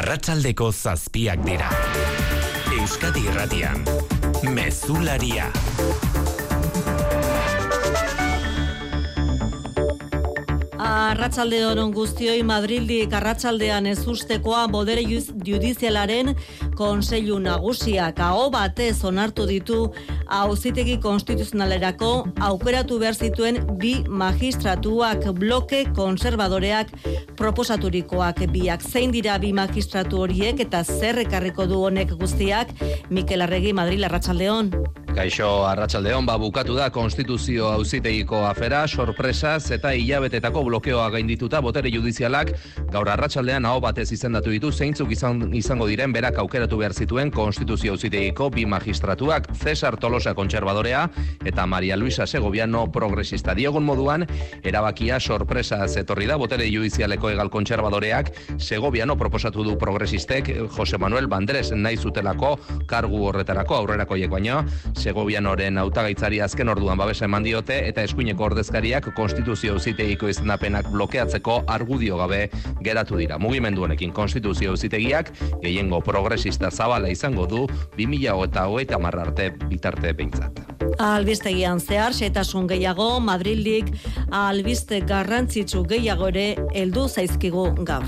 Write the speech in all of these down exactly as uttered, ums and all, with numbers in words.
Arratsaldeko zazpiak dira. Euskadi Irratian, Mezularia. Arratsalde on guztioi. Madrildik arratsaldean ez ustekoa bodere judizialaren Kontseilu Nagusiak aho batez onartu ditu Auzitegi Konstituzionalerako aukeratu behar zituen bi magistratuak, bloke konservadoreak proposaturikoak biak. Zein dira bi magistratu horiek eta zer ekarriko du honek guztiak? Mikel Arregi, Madril, arratsaldeon. Kaixo, arratsaldeon, ba bukatu da Konstituzio Auzitegiko afera, sorpresaz eta hilabetetako blokeoa gaindituta botere judizialak gaur arratsaldean aho batez izendatu ditu zeintzuk izan, izango diren berak aukeratu behar zituen Konstituzio Auzitegiko bi magistratuak, Cesar Tolosa kontserbadorea eta Maria Luisa Segoviano progresista. Diogun moduan, erabakia sorpresaz etorri da botere judizialeko egal kontserbadoreak Segoviano proposatu du progresistek Jose Manuel Bandres nahi zutelako kargu horretarako aurrerakoiek baino Segovianoren hautagaitzari azken orduan babesa eman diote eta eskuineko ordezkariak Konstituzio Auzitegiko izendapenak blokeatzeko argudio gabe geratu dira. Mugimendu honekin Konstituzio Auzitegiak gehiengo progresista zabala izango du bi mila hogeita hamar arte bitarte behintzat. Albistegian zehar xehetasun gehiago, Madrildik albiste garrantzitsu gehiago ere heldu zaizkigu gaur.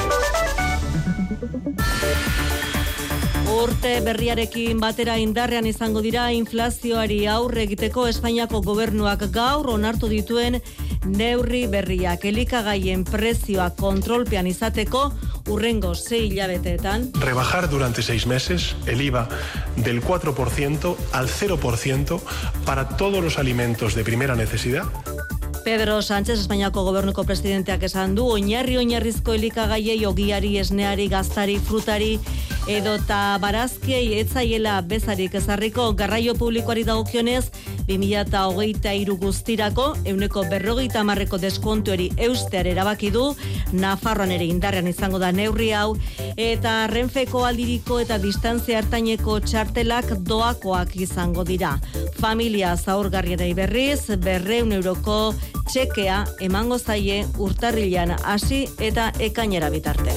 Urte berriarekin batera indarrean izango dira inflazioari aurre egiteko Espainiako gobernuak gaur onartu dituen neurri berriak. Elikagaien prezioa kontrolpean izateko urrengo sei hilabeteetan. Rebajar durante seis meses el I V A del cuatro por ciento al cero por ciento para todos los alimentos de primera necesidad. Pedro Sánchez, Espainiako gobernuko presidenteak esan du, oinarri oinarrizko elikagaiei, ogiari, esneari, gaztari, frutari edota barazkiei etzaiela bezarik ezarriko. Garraio publikoari dagokionez, bi mila hogeita hiru guztirako ehuneko berrogeita hamarreko deskontuari eustear erabaki du. Nafarroan ere indarrean izango da neurri hau, eta Renfeko aldiriko eta distantzia ertaineko txartelak doakoak izango dira. Familia zaurgarriei berriz berrehun euroko txekea emango zaie urtarrilean hasi eta ekainera bitarte.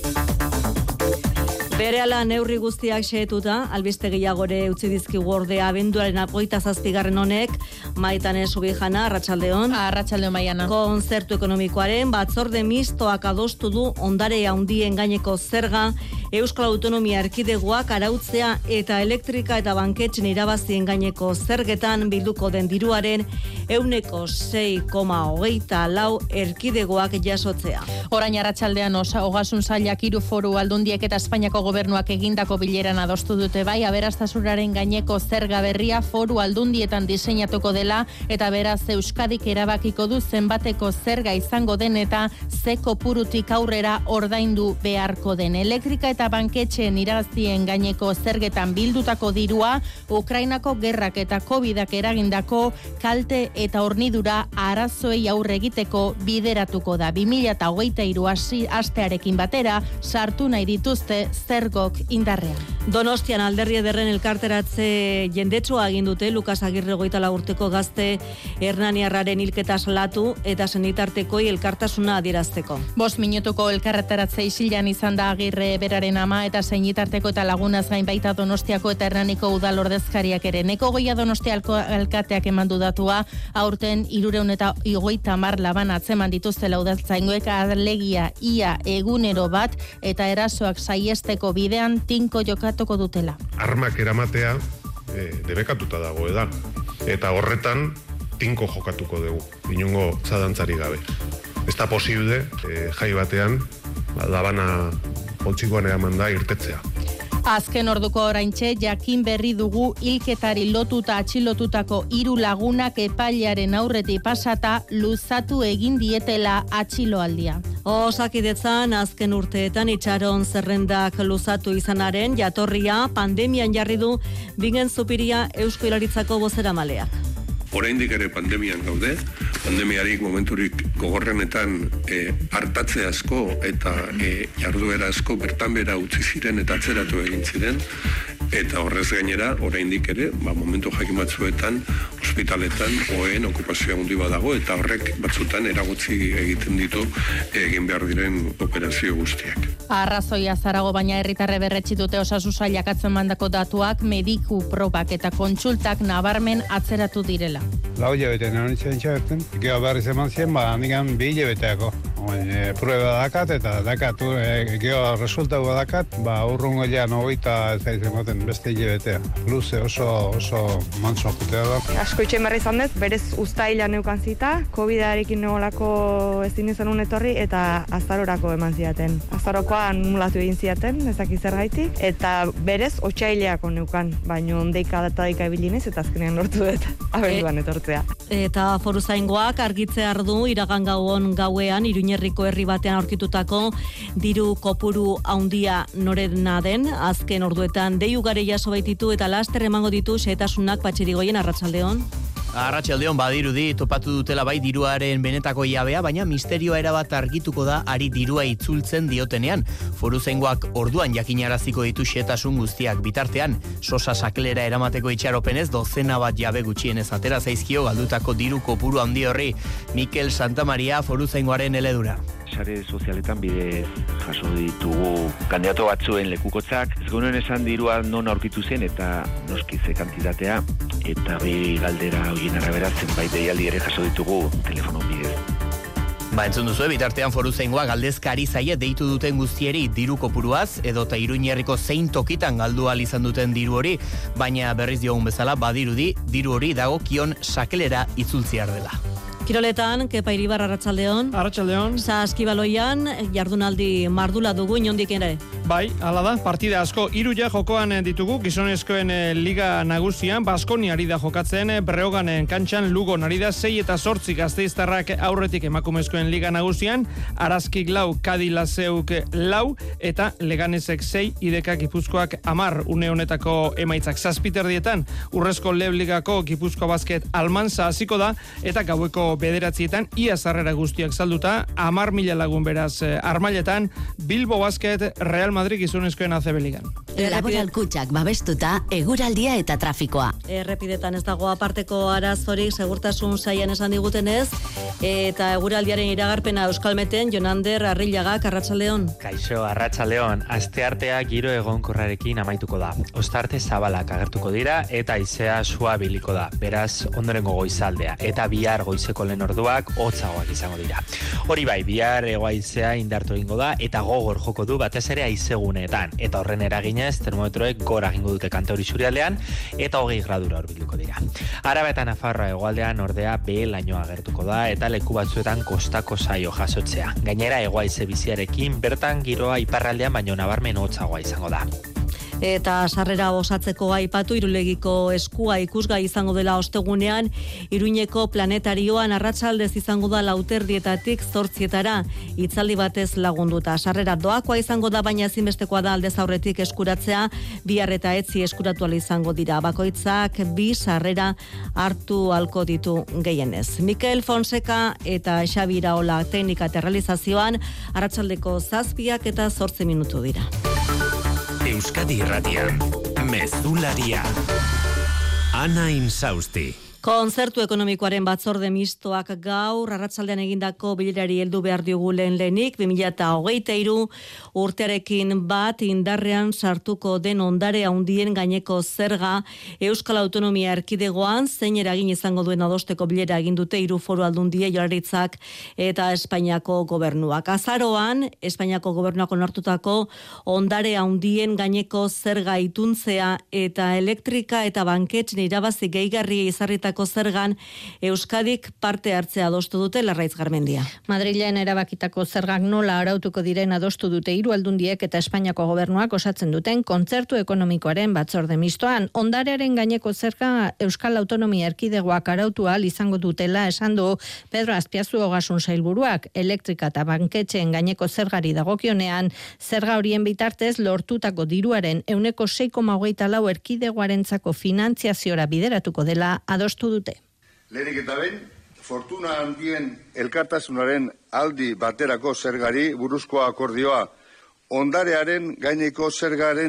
Berehala neurri guztiak xehetuta, albiste gehiagore utzi dizkigu ordea abenduaren hogeita zazpigarren honek. Maitane Subijana, arratsaldeon. Arratsaldeon Maiana. Kontzertu ekonomikoaren batzorde mistoak adostu du ondare handien gaineko zerga, Euskal Autonomia Erkidegoak arautzea eta elektrika eta banketxen irabazien gaineko zergetan bilduko den diruaren ehuneko sei koma hogeita lau erkidegoak jasotzea. Orain arratsaldean osa ogasun sailak hiru foru aldundiek eta Espainiako gobernuak egindako bileran adostu dute bai aberastasunaren gaineko zerga berria foru aldundietan diseinatuko dela eta beraz Euskadik erabakiko du zenbateko zerga izango den eta ze kopurutik aurrera ordaindu beharko den. Elektrika eta banketxeen irabazien gaineko zergetan bildutako dirua Ukrainako gerrak eta Covidak eragindako kalte eta hornidura arazoei aurre egiteko bideratuko da. bi mila hogeita hiru astearekin batera sartu nahi dituzte zergok indarrean. Donostian Alderri Ederren elkarteratze jendetsua egin dute Lukas Agirre hogeita lau urteko gazte hernaniarraren hilketa salatu eta senitartekoi elkartasuna adierazteko. Bost minutuko elkarretaratze isilan izan da Agirre beraren ama eta senitarteko eta lagunaz gain baita Donostiako eta Hernaniko udal ordezkariak ere. Neko goia Donostia alkateak emandu datua, aurten hirurehun eta hogeita hamar laban atzeman dituztela udaltzaingoek alegia ia egunero bat eta erasoak saiesteko bidean tinko jokatuko dutela. Armak eramatea e, debekatuta dago da. Eta horretan tinko jokatuko dugu, inongo zadantzari gabe. Ez da posible e, jai batean labana poltsikoan eraman da irtetzea. Azken orduko oraintxe jakin berri dugu hilketari lotuta atxilotutako hiru lagunak epailearen aurretik pasata luzatu egin dietela atxiloaldia. Osakidetzan azken urteetan itxaron zerrendak luzatu izanaren jatorria pandemian jarri du Bingen Zupiria Eusko Jaurlaritzako bozeramaleak. Oraindik ere pandemian gaude, pandemiarik momenturik gogorrenetan e, hartatze asko eta e, jarduera asko bertan bera utzi ziren eta atzeratu egin ziren. eta horrez gainera, oraindik ere, ba, momentu jakin batzuetan, ospitaletan, oen okupazioa handi badago, eta horrek batzutan eragotzi egiten ditu egin behar diren operazio guztiak. Arrazoia zarago, baina herritarre berretsi dute Osasun Sailak atzemandako datuak mediku probak eta kontsultak nabarmen atzeratu direla. Lau hilabete nire txentxaberten, geho berriz eman zien, ba, handikan bi hilabeteako. E, prueba dakat eta dakat, e, geho resultatu dakat, ba, urrungo ja nogeita ez daiz ematen beste hilabetea. Luze oso, oso mantso jutea da. Asko itxen berri izan dez, berez uztaila neukan zita, kovidarekin nolako ezin izan etorri eta azarorako eman ziaten. Azarokoan mulatu egin ziaten, ezak izergaitik, eta berez otsaileako neukan, baino deika data deika ibilinez eta azkenean lortu dut abenduan etortzea. Eta foruzaingoak argitzea ardu iragan gauon gauean Iruñerriko herri batean aurkitutako diru kopuru haundia norena den, azken orduetan dei ugari jaso baititu eta laster emango ditu xehetasunak Patxerigoien. Arratsaldeon. Arratsaldeon, badirudi topatu dutela bai diruaren benetako jabea, baina misterioa erabat argituko da ari dirua itzultzen diotenean. Foruzaingoak orduan jakinaraziko ditu xehetasun guztiak bitartean. Sosa saklera eramateko itxaropenez dozena bat jabe gutxienez atera zaizkio galdutako diru kopuru handi horri. Mikel Santamaria Foruzaingoaren eledura. Sare sozialetan bidez jaso ditugu kandidato batzuen lekukotzak. Ez genuen esan dirua non aurkitu zen eta noski ze kantitatea, eta bi galdera horien arabera zenbait deialdi ere jaso ditugu telefono bidez. Ba, entzun duzu, bitartean Foruzaingoa galdezkari zaie deitu duten guztieri diru kopuruaz, edota Iruñerriko zein tokitan galdu ahal izan duten diru hori, baina berriz diogun bezala badirudi diru hori dagokion sakelera itzultziar dela. Kiroletan, Kepa Iribar, arratsaldeon. Arratsaldeon. Saskibaloian, jardunaldi mardula dugu inondik ere. Bai, hala da, partida asko hiru ja jokoan ditugu, gizonezkoen liga nagusian, Baskoniari da jokatzen, Breoganen kantxan, Lugon ari da sei eta zortzi Gasteiztarrak aurretik emakumezkoen liga nagusian, Arazkik lau, Kadi Lazeuk lau, eta Leganesek sei, Ideka Gipuzkoak amar, une honetako emaitzak zazpiterdietan, Urrezko Leb Ligako Gipuzkoa Basket Almanza hasiko da, eta gaueko bederatzietan, ia sarrera guztiak salduta, amar mila lagun beraz armailetan, Bilbo Basket Real Madrid gizonezkoen A C B Ligan. Laboral kutxak babestuta, eguraldia eta trafikoa. Errepidetan ez dago aparteko arazorik, segurtasun saian esan digutenez, eta eguraldiaren iragarpena Euskalmeten, Jonander Arrillagak, arratsaldeon. Kaixo, arratsaldeon, asteartea giro egonkorrarekin amaituko da. Ostarte zabalak agertuko dira eta haizea suabiliko da. Beraz, ondorengo goizaldea eta bihar goizeko lehen orduak hotzagoak izango dira. Hori bai, bihar hego-haizea indartu egingo da eta gogor joko du batez ere haizeguneetan, eta horren eraginez termometroek gora egingo dute Kantauri isurialdean eta hogei gradura hurbilduko dira. Araba eta Nafarroa hegoaldean ordea behe-lainoa agertuko da eta leku batzuetan kostako saio jasotzea. Gainera hego-haize biziarekin bertan giroa iparraldean baino nabarmen hotzagoa izango da. Eta sarrera osatzeko aipatu Irulegiko eskua ikusgai izango dela ostegunean, Iruñeko planetarioan arratsaldez izango da lauterdietatik zortzietara, itzaldi batez lagunduta. Sarrera doakoa izango da, baina ezinbestekoa da aldez aurretik eskuratzea, bihar eta etzi eskuratu ahal izango dira. Bakoitzak bi sarrera hartu halko ditu gehienez. Mikel Fonseca eta Xabi Iraola teknika eta realizazioan, arratsaldeko zazpiak eta zortzi minutu dira. Euskadi Irratian, Mezularia. Ana Insausti. Kontzertu ekonomikoaren batzorde mistoak gaur arratsaldean egindako bilerari heldu behar diogu lehen lehenik, bi mila hogeita hiru urtearekin bat indarrean sartuko den ondare handien gaineko zerga Euskal Autonomia Erkidegoan zein eragin izango duen adosteko bilera egin dute hiru foru aldundie, Jaurlaritzak eta Espainiako gobernuak. Azaroan Espainiako gobernuak onartutako ondare handien gaineko zerga ituntzea eta elektrika eta banketxen irabazi gehigarri izarrita zergan Euskadik parte hartzea adostu dute. Larraitz Garmendia. Madrilen erabakitako zergak nola arautuko diren adostu dute hiru aldundiek eta Espainiako gobernuak osatzen duten kontzertu ekonomikoaren batzorde mistoan. Ondarearen gaineko zerga Euskal Autonomia Erkidegoak arautu ahal izango dutela esan du Pedro Azpiazu Ogasun Sailburuak. Elektrika eta banketxeen gaineko zergari dagokionean, zerga horien bitartez lortutako diruaren ehuneko sei koma hogeita lau erkidegoarentzako finantziaziora bideratuko dela adostu dute. Lehenik eta behin, fortuna handien elkartasunaren aldi baterako zergari buruzko akordioa, ondarearen gaineko zergaren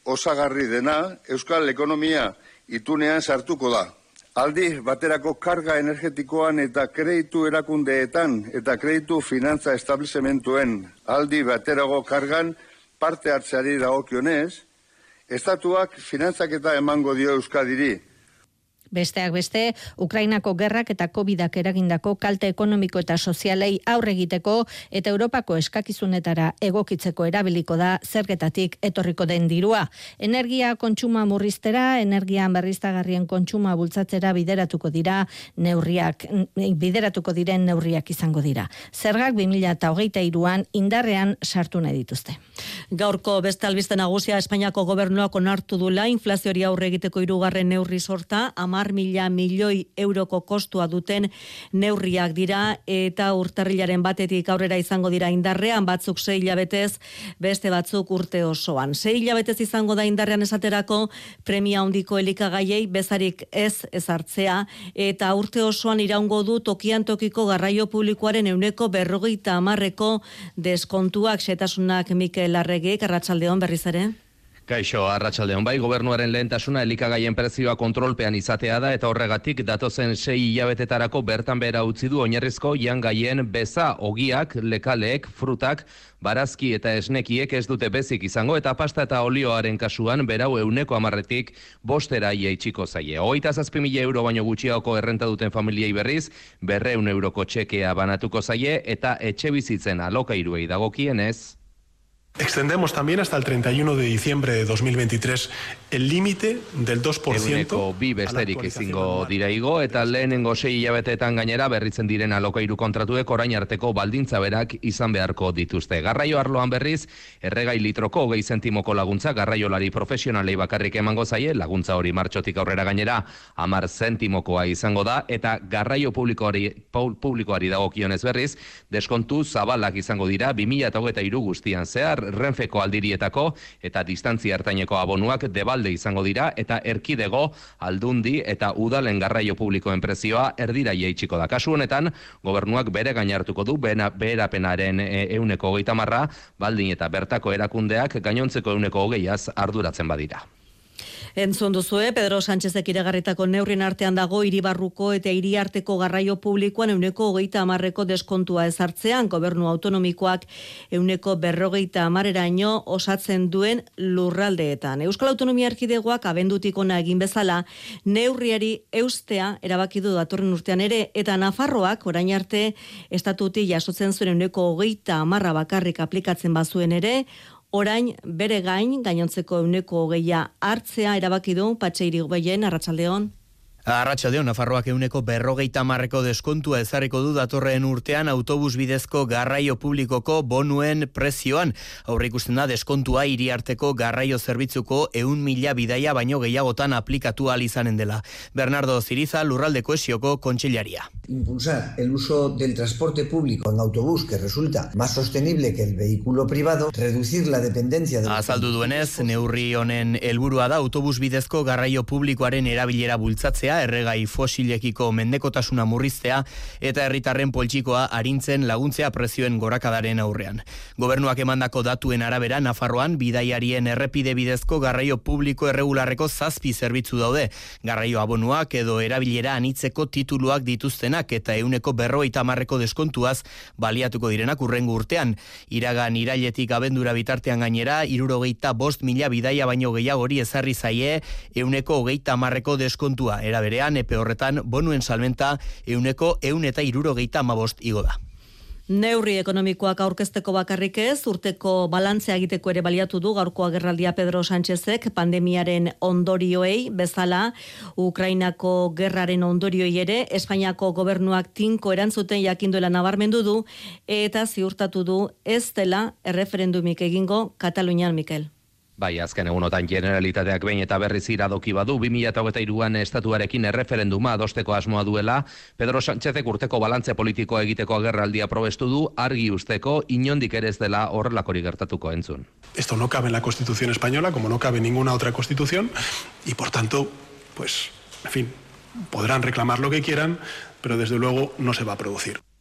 osagarri dena euskal ekonomia itunean sartuko da. Aldi baterako karga energetikoan eta kreditu erakundeetan eta kreditu finantza establishmentuen aldi baterako kargan parte hartzeari dagokionez, estatuak finantzaketa emango dio Euskadiri. Besteak beste, Ukrainako gerrak eta covidak eragindako kalte ekonomiko eta sozialei aurre egiteko eta Europako eskakizunetara egokitzeko erabiliko da zergetatik etorriko den dirua. Energia kontsuma murriztera, energian berriztagarrien kontsuma bultzatzera bideratuko dira neurriak, bideratuko diren neurriak izango dira. Zergak bi mila hogeita hiruan indarrean sartu nahi dituzte. Gaurko beste albiste nagusia Espainiako gobernuak onartu dula inflazioari aurre egiteko hirugarren neurri sorta, hamar mila milioi euroko kostua duten neurriak dira eta urtarrilaren batetik aurrera izango dira indarrean, batzuk sei hilabetez, beste batzuk urte osoan. Sei hilabetez izango da indarrean esaterako premia handiko elikagaiei bezarik ez ezartzea eta urte osoan iraungo du tokian tokiko garraio publikoaren ehuneko berrogeita hamarreko deskontuak. Xetasunak Mikel Arregik, arratsaldeon berriz ere. Kaixo, arratsaldeon bai, gobernuaren lehentasuna elikagaien prezioa kontrolpean izatea da eta horregatik datozen sei hilabetetarako bertan behera utzi du oinarrizko jangaien beza, ogiak, lekaleek, frutak, barazki eta esnekiek ez dute bezik izango eta pasta eta olioaren kasuan berau euneko hamarretik bostera jaitsiko zaie. Hogeita zazpi mila euro baino gutxiagoko errenta duten familiei berriz, berreun euroko txekea banatuko zaie eta etxe bizitzen alokairuei dagokienez. Extendemos también hasta el treinta y uno de diciembre de dos mil veintitrés el límite del dos por ciento. Eguneko bi besterik ezingo dira igo eta lehenengo sei hilabeteetan gainera berritzen diren alokairu kontratuek orain arteko baldintza berak izan beharko dituzte. Garraio arloan berriz, erregai litroko hogei zentimoko laguntza garraiolari profesionalei bakarrik emango zaie, laguntza hori martxotik aurrera gainera hamar zentimokoa izango da eta garraio publikoari, publikoari dagokionez berriz, deskontu zabalak izango dira bi mila hogeita hiru guztian zehar. Renfeko aldirietako eta distantzia hartaineko abonuak debalde izango dira eta erkidego, aldundi eta udalen garraio publikoen prezioa erdira jaitsiko da. Kasu honetan, gobernuak bere gain hartuko du beherapenaren ehuneko hogeita hamarra, baldin eta bertako erakundeak gainontzeko ehuneko hogeiaz arduratzen badira. Entzun duzue, Pedro Sánchezek iragarritako neurrien artean dago hiribarruko eta hiriarteko garraio publikoan ehuneko hogeita hamarreko deskontua ezartzean, gobernu autonomikoak ehuneko berrogeita hamareraino osatzen duen lurraldeetan. Euskal Autonomia Erkidegoak abendutik ona egin bezala, neurriari eustea erabaki du datorren urtean ere, eta Nafarroak orain arte estatuti jasotzen zuen ehuneko hogeita hamarra bakarrik aplikatzen bazuen ere, orain bere gain gainontzeko ehuneko hogeia hartzea erabaki du Patxi Irigoyen, arratsaldeon. Arratsaldeon, Nafarroak ehuneko berrogeita hamarreko deskontua ezarriko du datorren urtean autobus bidezko garraio publikoko bonuen prezioan. Aurreikusten da deskontua hiriarteko garraio zerbitzuko ehun mila bidaia baino gehiagotan aplikatu ahal izanen dela. Bernardo Ziriza, Lurralde Kohesioko kontseilaria. Impulsar el uso del transporte público en autobús que resulta más sostenible que el vehículo privado, reducir la dependencia de... Azaldu duenez, neurri honen helburua da autobus bidezko garraio publikoaren erabilera bultzatzea, erregai fosilekiko mendekotasuna murriztea eta herritarren poltsikoa arintzen laguntzea prezioen gorakadaren aurrean. Gobernuak emandako datuen arabera, Nafarroan bidaiarien errepide bidezko garraio publiko erregularreko zazpi zerbitzu daude. Garraio abonuak edo erabilera anitzeko tituluak dituztenak eta ehuneko berrogeita hamarreko deskontuaz baliatuko direnak hurrengo urtean. Iragan irailetik abendura bitartean gainera, hirurogeita bost mila bidaia baino gehiagori ezarri zaie ehuneko hogeita hamarreko deskontua. Era berean, epe horretan bonuen salmenta ehuneko ehun eta hirurogeita hamabost igo da. Neurri ekonomikoak aurkezteko bakarrik ez, urteko balantzea egiteko ere baliatu du gaurko agerraldia Pedro Sánchezek pandemiaren ondorioei bezala, Ukrainako gerraren ondorioei ere, Espainiako gobernuak tinko erantzuten jakinduela nabarmendu du eta ziurtatu du ez dela erreferendumik egingo Katalunian, Mikel. Bai, azken egunotan Generalitateak behin eta berriz iradoki badu, bi mila hogeita hiruan estatuarekin erreferenduma adosteko asmoa duela, Pedro Sánchezek urteko balantze politikoa egiteko agerraldia probestu du, argi usteko inondik ere ez dela horrelakori gertatuko entzun. Esto no cabe en la Constitución española, como no cabe en ninguna otra Constitución, y por tanto, pues, en fin, podrán reclamar lo que quieran, pero desde luego no se va a producir.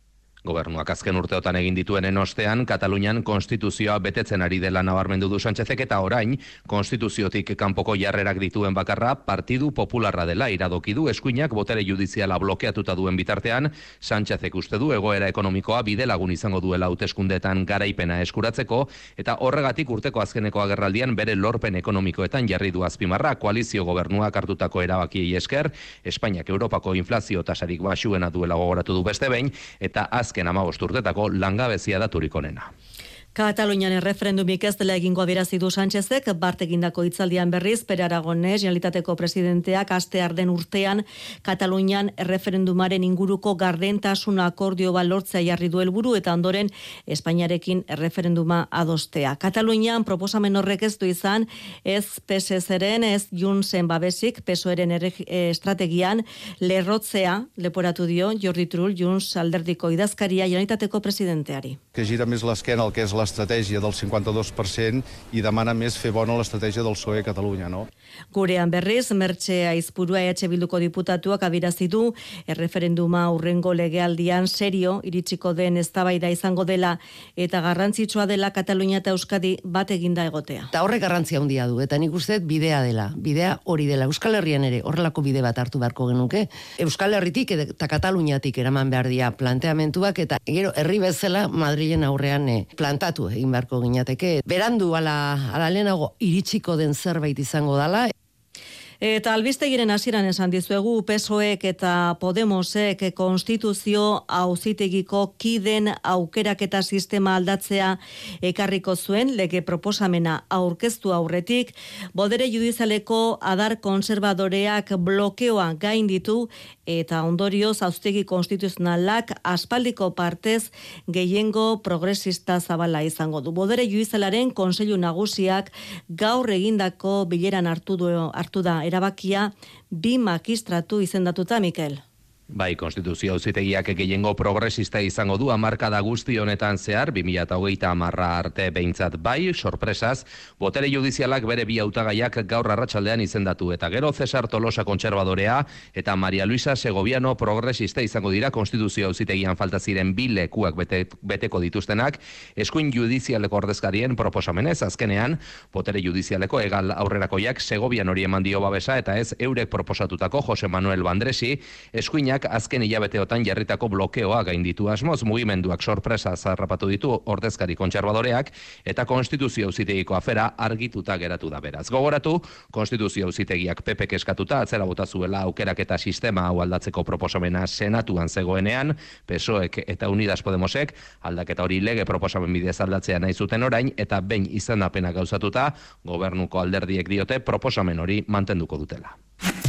Gobernuak azken urteotan egin dituen ostean, Katalunian konstituzioa betetzen ari dela nabarmendu du Sánchezek eta orain, konstituziotik kanpoko jarrerak dituen bakarra Partidu Popularra dela iradoki du eskuinak botere judiziala blokeatuta duen bitartean, Sánchezek uste du egoera ekonomikoa bide lagun izango duela hauteskundeetan garaipena eskuratzeko eta horregatik urteko azkeneko agerraldian bere lorpen ekonomikoetan jarri du azpimarra koalizio gobernuak hartutako erabakiei esker, Espainiak Europako inflazio tasarik baxuena duela gogoratu du beste behin eta azken hamabost urtetako langabezia daturik onena. Katalunian erreferendumik ez dela egingo adierazi du Sánchezek, bart egindako hitzaldian berriz, Pere Aragonés, Generalitateko presidenteak astear den urtean Katalunian erreferendumaren inguruko gardentasun akordio bat lortzea jarri du helburu eta ondoren Espainiarekin erreferenduma adostea. Katalunian proposamen horrek ez du izan, ez P S eren, ez Juntzen babesik, P S O-eren estrategian lerrotzea leporatu dio Jordi Turull, Junts alderdiko idazkaria Generalitateko presidenteari. Que gira més l'esquena el que és la l'estratègia del cinquanta-dos per cent i demana més fer bona l'estratègia del P S O E a Catalunya, no? Gurean berriz, Mertxe Aizpurua E H Bilduko diputatuak adierazi du erreferenduma hurrengo legealdian serio iritsiko den eztabaida izango dela eta garrantzitsua dela Katalunia eta Euskadi bat eginda egotea. Ta horrek garrantzia handia du eta nik uste bidea dela, bidea hori dela. Euskal Herrian ere horrelako bide bat hartu beharko genuke. Euskal Herritik eta Kataluniatik eraman behar dira planteamentuak eta gero herri bezala Madrilen aurrean eh, plantatu egin beharko ginateke. Berandu ala, ala lehenago iritsiko den zerbait izango dala. Eta albistegiren hasieran esan dizuegu P S O E-ek eta Podemosek konstituzio auzitegiko kiden aukeraketa sistema aldatzea ekarriko zuen lege proposamena aurkeztu aurretik, bodere judizialeko adar konservadoreak blokeoa gainditu eta ondorioz auzitegi konstituzionalak aspaldiko partez gehiengo progresista zabala izango du. Bodere judizialaren Kontseilu Nagusiak gaur egindako bileran hartu du hartu da erabakia bi magistratu izendatuta, Mikel. Bai, konstituzio auzitegiak gehiengo progresista izango du hamarkada guzti honetan zehar, bi mila hogeita hamarra arte behintzat bai, sorpresaz, botere judizialak bere bi hautagaiak gaur arratsaldean izendatu, eta gero Cesar Tolosa kontserbadorea eta Maria Luisa Segoviano progresista izango dira konstituzio auzitegian falta ziren bi lekuak bete, beteko dituztenak, eskuin judizialeko ordezkarien proposamenez, azkenean, botere judizialeko egal aurrerakoiak Segovian hori eman dio babesa, eta ez eurek proposatutako Jose Manuel Bandresi, eskuin azken hilabeteotan jarritako blokeoa gainditu asmoz, mugimenduak sorpresa zarrapatu ditu ordezkari kontserbadoreak eta konstituzio auzitegiko afera argituta geratu da beraz. Gogoratu, konstituzio auzitegiak P Pek eskatuta atzera bota zuela aukeraketa sistema hau aldatzeko proposamena senatuan zegoenean, P S O E-ek eta Unidas Podemosek aldaketa hori lege proposamen bidez aldatzea nahi zuten orain eta behin izendapena gauzatuta, gobernuko alderdiek diote proposamen hori mantenduko dutela.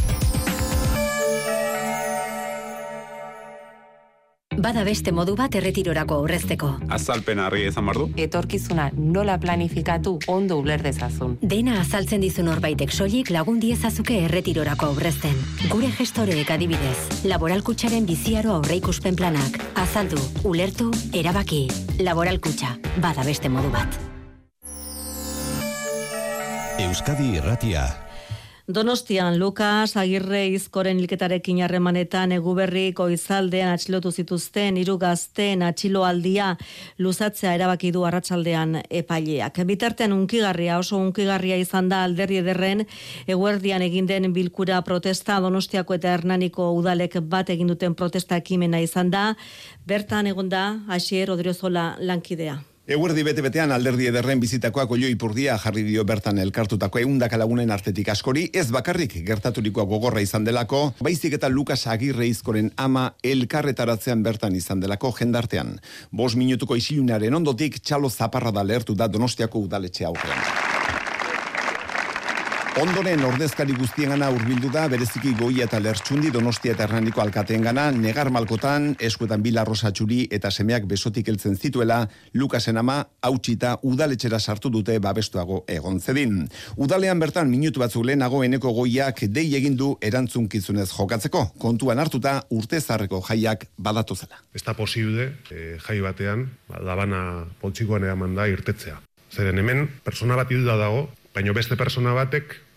Bada beste modu bat erretirorako aurrezteko. Azalpen harri izan bardu. Etorkizuna nola planifikatu ondo uler dezazun. Dena azaltzen dizun horbaitek soilik lagun diezazuke erretirorako aurrezten. Gure gestoreek adibidez, Laboralkutxaren biziaro aurreikuspen planak. Azaldu, ulertu, erabaki. Laboralkutxa, bada beste modu bat. Euskadi Irratia. Donostian, Lukas Agirre Izkoren hilketarekin harremanetan Eguberri goizaldean atxilotu zituzten hiru gazteen atxiloaldia luzatzea erabaki du arratsaldean epaileak. Bitartean unkigarria, oso unkigarria izan da Alderdi Ederren eguerdian egin den bilkura protesta. Donostiako eta Hernaniko udalek bat egin duten protesta ekimena izan da. Bertan egon da Asier Odriozola lankidea. Eguerdi bete-betean Alderdi Ederren bizitakoak Oio Ipurdia jarri dio bertan elkartutako ehundaka lagunen artetik askori, ez bakarrik gertaturikoa gogorra izan delako, baizik eta Lukas Agirre Izkoren ama elkarretaratzean bertan izan delako jendartean. Bost minutuko isilunaren ondotik txalo zaparra da lehertu da Donostiako udaletxe aurrean. Ondoren ordezkari guztiengana hurbildu da bereziki Goia eta Lertxundi Donostia eta Hernaniko alkateengana negar malkotan eskuetan Bila Rosa Txuri eta semeak besotik heltzen zituela Lukasen ama hautsita udaletxera sartu dute babestuago egon zedin. Udalean bertan minutu batzuk lehenago Eneko Goiak dei egin du erantzunkizunez jokatzeko, kontuan hartuta urte zarreko jaiak badatu zela. Ez da posible eh, jai batean labana poltsikoan eraman da irtetzea. Zeren hemen persona bat hilda dago, baino beste persona batek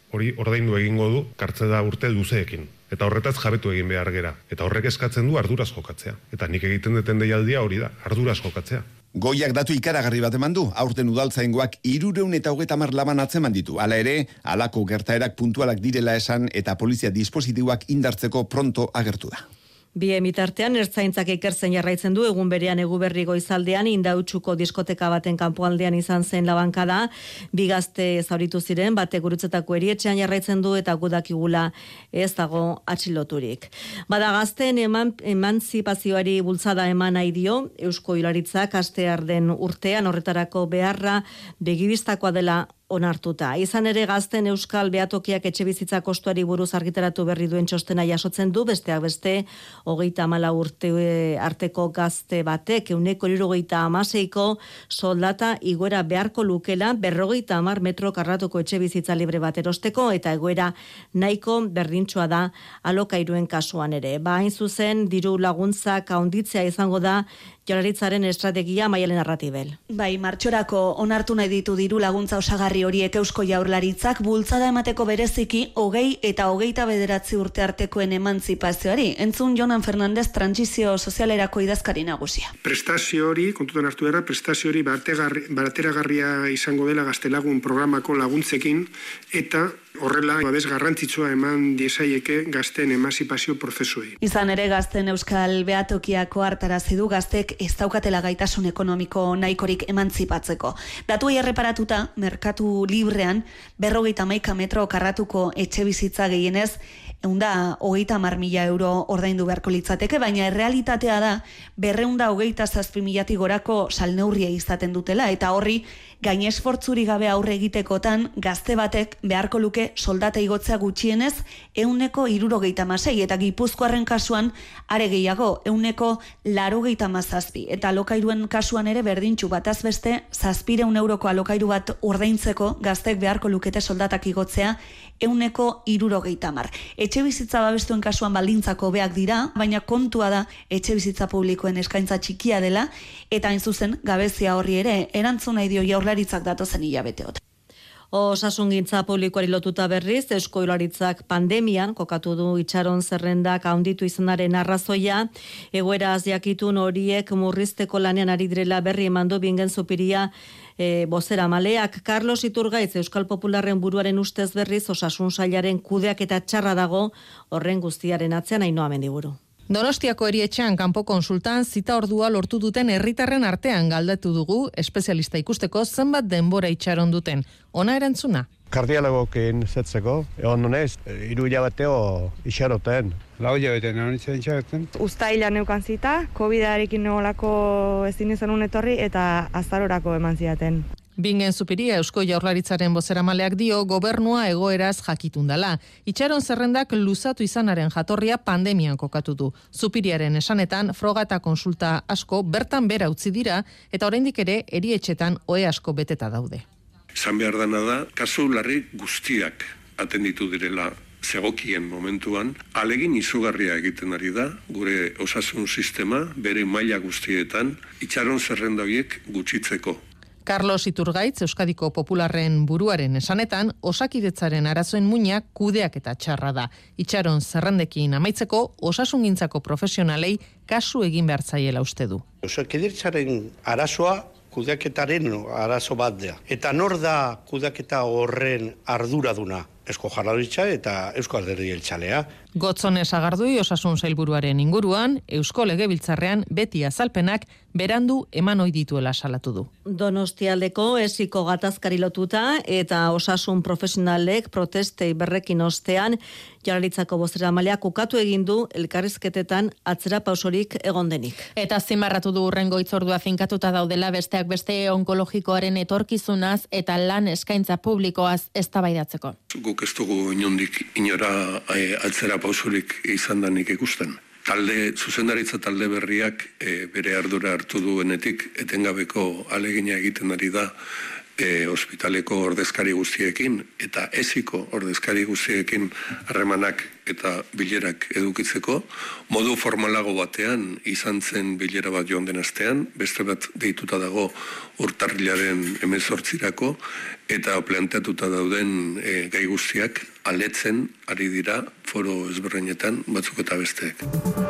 hori ordaindu egingo du kartzela urte luzeekin. Eta horretaz jabetu egin behar gera. Eta horrek eskatzen du arduraz jokatzea. Eta nik egiten deten deialdia hori da, arduraz jokatzea. Goiak datu ikaragarri bat eman du, aurten udaltzaingoak hirureun eta hogeita hamar laban atzeman ditu. Hala ere, halako gertaerak puntualak direla esan eta polizia dispositiboak indartzeko pronto agertu da. Bi emitartean ertzaintzak ikertzen jarraitzen du egun berean Eguberri goizaldean Indautxuko diskoteka baten kanpoaldean izan zen labankada, bi gazte zauritu ziren, bate gurutzetako erietxean jarraitzen du eta gudakigula ez dago atxiloturik. Bada gazten eman, emantzipazioari bultzada eman nahi dio, Eusko Jaurlaritzak astear den urtean horretarako beharra begibistakoa dela onartuta. Izan ere gazten Euskal Behatokiak etxe bizitza kostuari buruz argitaratu berri duen txostena jasotzen du, besteak beste, hogeita hamala urte arteko gazte batek, euneko hirurogeita hamaseiko soldata igoera beharko lukela, berrogeita hamar metro karratuko etxe bizitza libre bat erosteko, eta egoera nahiko berdintxoa da alokairuen kasuan ere. Ba, hain zuzen, diru laguntzak handitzea izango da Jaurlaritzaren estrategia Maialen Arratibel. Bai, martxorako onartu nahi ditu diru laguntza osagarri horiek Eusko Jaurlaritzak bultzada emateko bereziki hogei eta hogeita bederatzi urte artekoen emantzipazioari. Entzun Jonan Fernandez trantsizio sozialerako idazkari nagusia. Prestazio hori, kontutan hartu behar, prestazio hori bateragarria izango dela Gaztelagun programako laguntzekin eta horrela babes garrantzitsua eman diesaieke gazten emantzipazio prozesuei. Izan ere gazten Euskal Behatokiako hartarazi du gaztek ez daukatela gaitasun ekonomiko nahikorik emantzipatzeko. Datuei erreparatuta, merkatu librean berrogeita hamaika metro karratuko etxe bizitza gehienez eunda hogeita hamar mila euro ordaindu beharko litzateke, baina errealitatea da berreunda hogeita zazpi milatik gorako salneurria izaten dutela, eta horri gainesfortzuri gabe aurre egitekotan gazte batek beharko luke soldata igotzea gutxienez euneko hirurogeita hamasei, eta Gipuzkoarren kasuan are gehiago euneko laurogeita hamazazpi, eta alokairuen kasuan ere berdintxu bataz beste zazpireun euroko alokairu bat ordaintzeko gaztek beharko lukete soldatak igotzea euneko hirurogeita hamar. Etxe bizitza babestuen kasuan baldintzako hobeak dira, baina kontua da etxe bizitza publikoen eskaintza txikia dela, eta hain zuzen gabezia horri ere erantzun nahi dio Jaurlaritzak datozen hilabeteotan. Osasungintza publikoari lotuta berriz, Eusko Jaurlaritzak pandemian kokatu du itxaron zerrendak handitu izanaren arrazoia, egoeraz jakitun horiek murrizteko lanean ari direla berri emandu Bingen Zupiria e, bozera maleak. Carlos Iturgaitz Euskal Popularren buruaren ustez berriz osasun sailaren kudeak eta txarra dago horren guztiaren atzean Ainhoa Mendiburu. Donostiako erietxean kanpo konsultan zita ordua lortu duten herritarren artean galdetu dugu espezialista ikusteko zenbat denbora itxaron duten. Ona erantzuna. Kardiologokin zetzeko, egon nonez, hiru hilabeteo itxaroten. Lau hilabete non itxaroten? Uztailan neukan zita, covidarekin nolako ezin izan etorri eta azarorako eman zidaten. Bingen Zupiria Eusko Jaurlaritzaren bozeramaleak dio gobernua egoeraz jakitun dela. Itxaron zerrendak luzatu izanaren jatorria pandemian kokatu du. Zupiriaren esanetan froga eta konsulta asko bertan bera utzi dira eta oraindik ere erietxetan ohe asko beteta daude. Zan behar dana da, kasu larri guztiak atenditu direla zegokien momentuan, alegin izugarria egiten ari da, gure osasun sistema, bere maila guztietan, itxaron zerrenda horiek gutxitzeko. Carlos Iturgaitz, Euskadiko Popularren buruaren esanetan, osakidetzaren arazoen muinak kudeak eta txarra da. Itxaron zerrendekin amaitzeko, osasungintzako profesionalei kasu egin behar zaiela uste du. Osakidetzaren arazoa kudeaketaren arazo bat da. Eta nor da kudeaketa horren arduraduna? Eusko Jaurlaritza eta Eusko Alderdi Jeltzalea. Gotzone Sagardui osasun sailburuaren inguruan, Eusko Legebiltzarrean beti azalpenak berandu eman ohi dituela salatu du. Donostialdeko esiko gatazkari lotuta eta osasun profesionalek protestei berrekin ostean, Jaurlaritzako bozeramaleak ukatu egin du elkarrizketetan atzera pausorik egon denik. Eta zimarratu du urrengo hitzordua finkatuta daudela besteak beste onkologikoaren etorkizunaz eta lan eskaintza publikoaz eztabaidatzeko. Guk ez dugu inondik inora e, atzera pausorik izan danik ikusten. Talde, zuzendaritza talde berriak e, bere ardura hartu duenetik etengabeko alegina egiten ari da e, ospitaleko ordezkari guztiekin eta eziko ordezkari guztiekin harremanak eta bilerak edukitzeko, modu formalago batean izan zen bilera bat joan den astean, beste bat deituta dago urtarrilaren hemezortzirako, eta planteatuta dauden e, gai guztiak aletzen ari dira foro ezberdinetan batzuk eta besteek.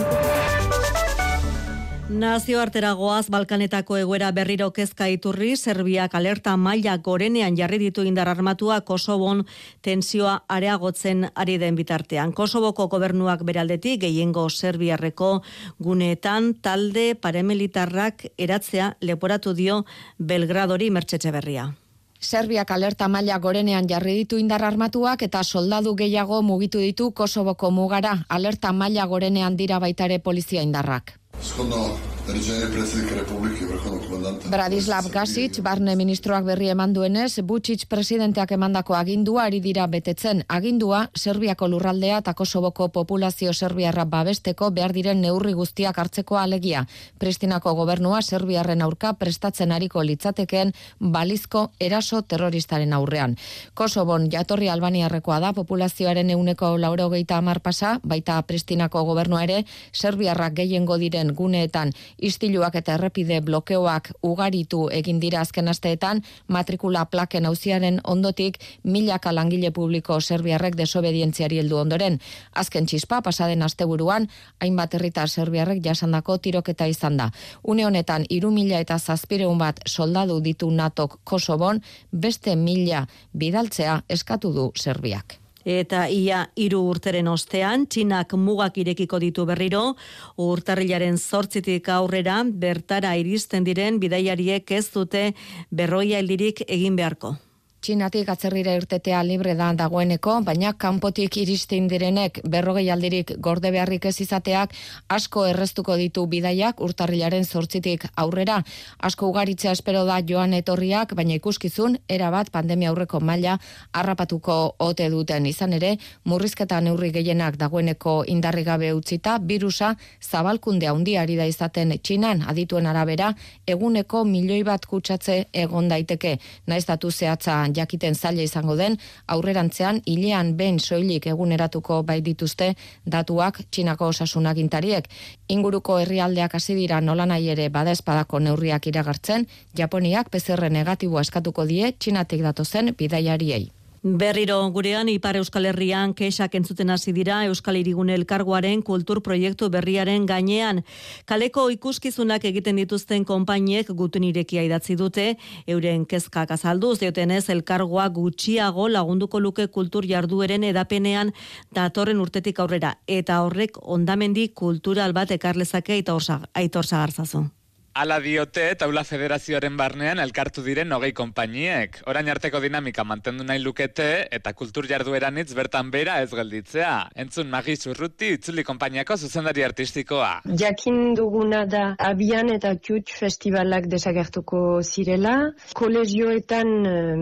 Nazioarteragoaz Balkanetako egoera berriro kezka iturri, Serbiak alerta maila gorenean jarri ditu indar armatua Kosovon tensioa areagotzen ari den bitartean. Kosovoko gobernuak beraldetik gehiengo serbiarreko guneetan talde paramilitarrak eratzea leporatu dio Belgradori Mertxetxe Berria. Serbiak alerta maila gorenean jarri ditu indar armatuak eta soldadu gehiago mugitu ditu Kosovoko mugara. Alerta maila gorenean dira baitare polizia indarrak. Shodno naređenje predsjednika Republike vrhovnog komandanta Bradislav Gasic, barne ministroak berri eman duenez, Vučić presidenteak emandako agindua ari dira betetzen. Agindua Serbiako lurraldea eta Kosovoko populazio serbiarra babesteko behar diren neurri guztiak hartzeko alegia. Pristinako gobernua serbiarren aurka prestatzen ariko litzatekeen balizko eraso terroristaren aurrean. Kosovon jatorri albaniarrekoa da, populazioaren ehuneko laurogeita hamar pasa, baita Pristinako gobernua ere serbiarrak gehiengo diren guneetan istiluak eta errepide blokeoak ugaritu egin dira azken asteetan, matrikula plaken auziaren ondotik milaka langile publiko serbiarrek desobedientziari heldu ondoren. Azken txispa pasaden asteburuan hainbat herritar serbiarrek jasandako tiroketa izan da. Une honetan hiru mila eta zazpiehun bat soldadu ditu natok Kosovon, beste mila bidaltzea eskatu du Serbiak. Eta ia hiru urteren ostean, Txinak mugak irekiko ditu berriro, urtarrilaren zortzitik aurrera bertara iristen diren bidaiariek ez dute berroia heldirik egin beharko. Txinatik atzerrira irtetea libre da dagoeneko, baina kanpotik iristen direnek berrogei aldirik gorde beharrik ez izateak asko erreztuko ditu bidaiak urtarrilaren zortzitik aurrera. Asko ugaritzea espero da joan etorriak, baina ikuskizun erabat pandemia aurreko maila harrapatuko ote duten izan ere, murrizketa neurri gehienak dagoeneko indarri gabe utzita, birusa zabalkunde handiari da izaten Txinan, adituen arabera, eguneko milioi bat kutsatze egon daiteke, naiz datu zehatza jakiten zaila izango den, aurrerantzean hilean behin soilik eguneratuko bai dituzte datuak Txinako osasunagintariek. Inguruko herrialdeak hasi dira nolanahi ere badaezpadako neurriak iragartzen, Japoniak P C R negatiboa eskatuko die Txinatik datozen bidaiariei. Berriro gurean Ipar Euskal Herrian kexak entzuten hasi dira Euskal Hirigune Elkargoaren kultur proiektu berriaren gainean. Kaleko ikuskizunak egiten dituzten konpainiek gutun irekia idatzi dute, euren kezkak azalduz diotenez elkargoa gutxiago lagunduko luke kultur jardueren edapenean datorren urtetik aurrera, eta horrek hondamendi kultural bat ekarlezake eta Aitor Sagarzazu. Ala diote, Taula Federazioaren barnean elkartu diren hogei konpainiek. Orain arteko dinamika mantendu nahi lukete eta kultur jardueran hitz bertan bera ez gelditzea. Entzun Magi Zurruti, Itzuli konpainiako zuzendari artistikoa. Jakin duguna da abian eta Kutx festivalak desagertuko zirela. Kolegioetan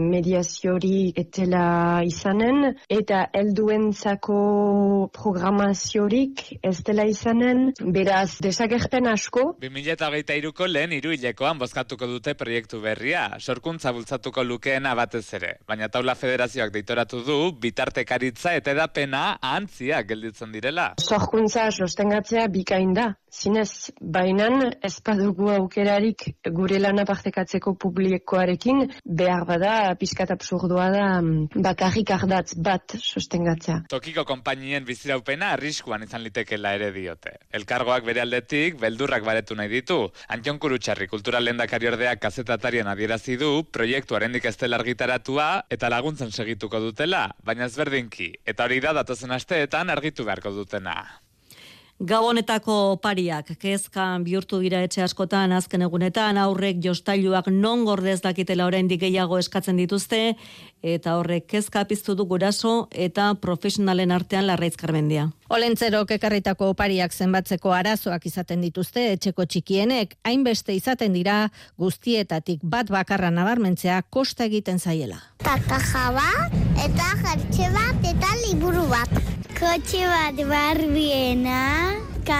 mediaziori etela izanen eta helduentzako programaziorik ez dela izanen. Beraz, desagerten asko. bi mila hogeita hiruko lehen hiruhilekoan bozkatuko dute proiektu berria, sorkuntza bultzatuko lukeena batez ere. Baina Taula Federazioak deitoratu du, bitartekaritza eta edapena ahantziak gelditzen direla. Sorkuntza sostengatzea bikain da. Zinez, bainan ez badugu aukerarik gure lana partekatzeko publikoarekin, behar bada, pizkat absurdua da, bakarrik ardatz bat sostengatzea. Tokiko konpainien biziraupena arriskuan izan litekela ere diote. Elkargoak bere aldetik, beldurrak baretu nahi ditu. Antxon Kurutxarri kultural lehendakari ordeak kazetatarian adierazi du, proiektu arendik ez dela argitaratua eta laguntzen segituko dutela, baina ezberdinki. Eta hori da datozen asteetan argitu beharko dutena. Gabonetako pariak kezka bihurtu dira etxe askotan azken egunetan, aurrek jostailuak non gordez dakitela oraindik gehiago eskatzen dituzte, eta horrek kezka piztu du guraso eta profesionalen artean Larraitz Karmendia. Olentzerok ekarritako opariak zenbatzeko arazoak izaten dituzte etxeko txikienek, hainbeste izaten dira guztietatik bat bakarra nabarmentzea kosta egiten zaiela. Takaja bat, eta jertxe bat, eta liburu bat. Kotxe bat barbiena,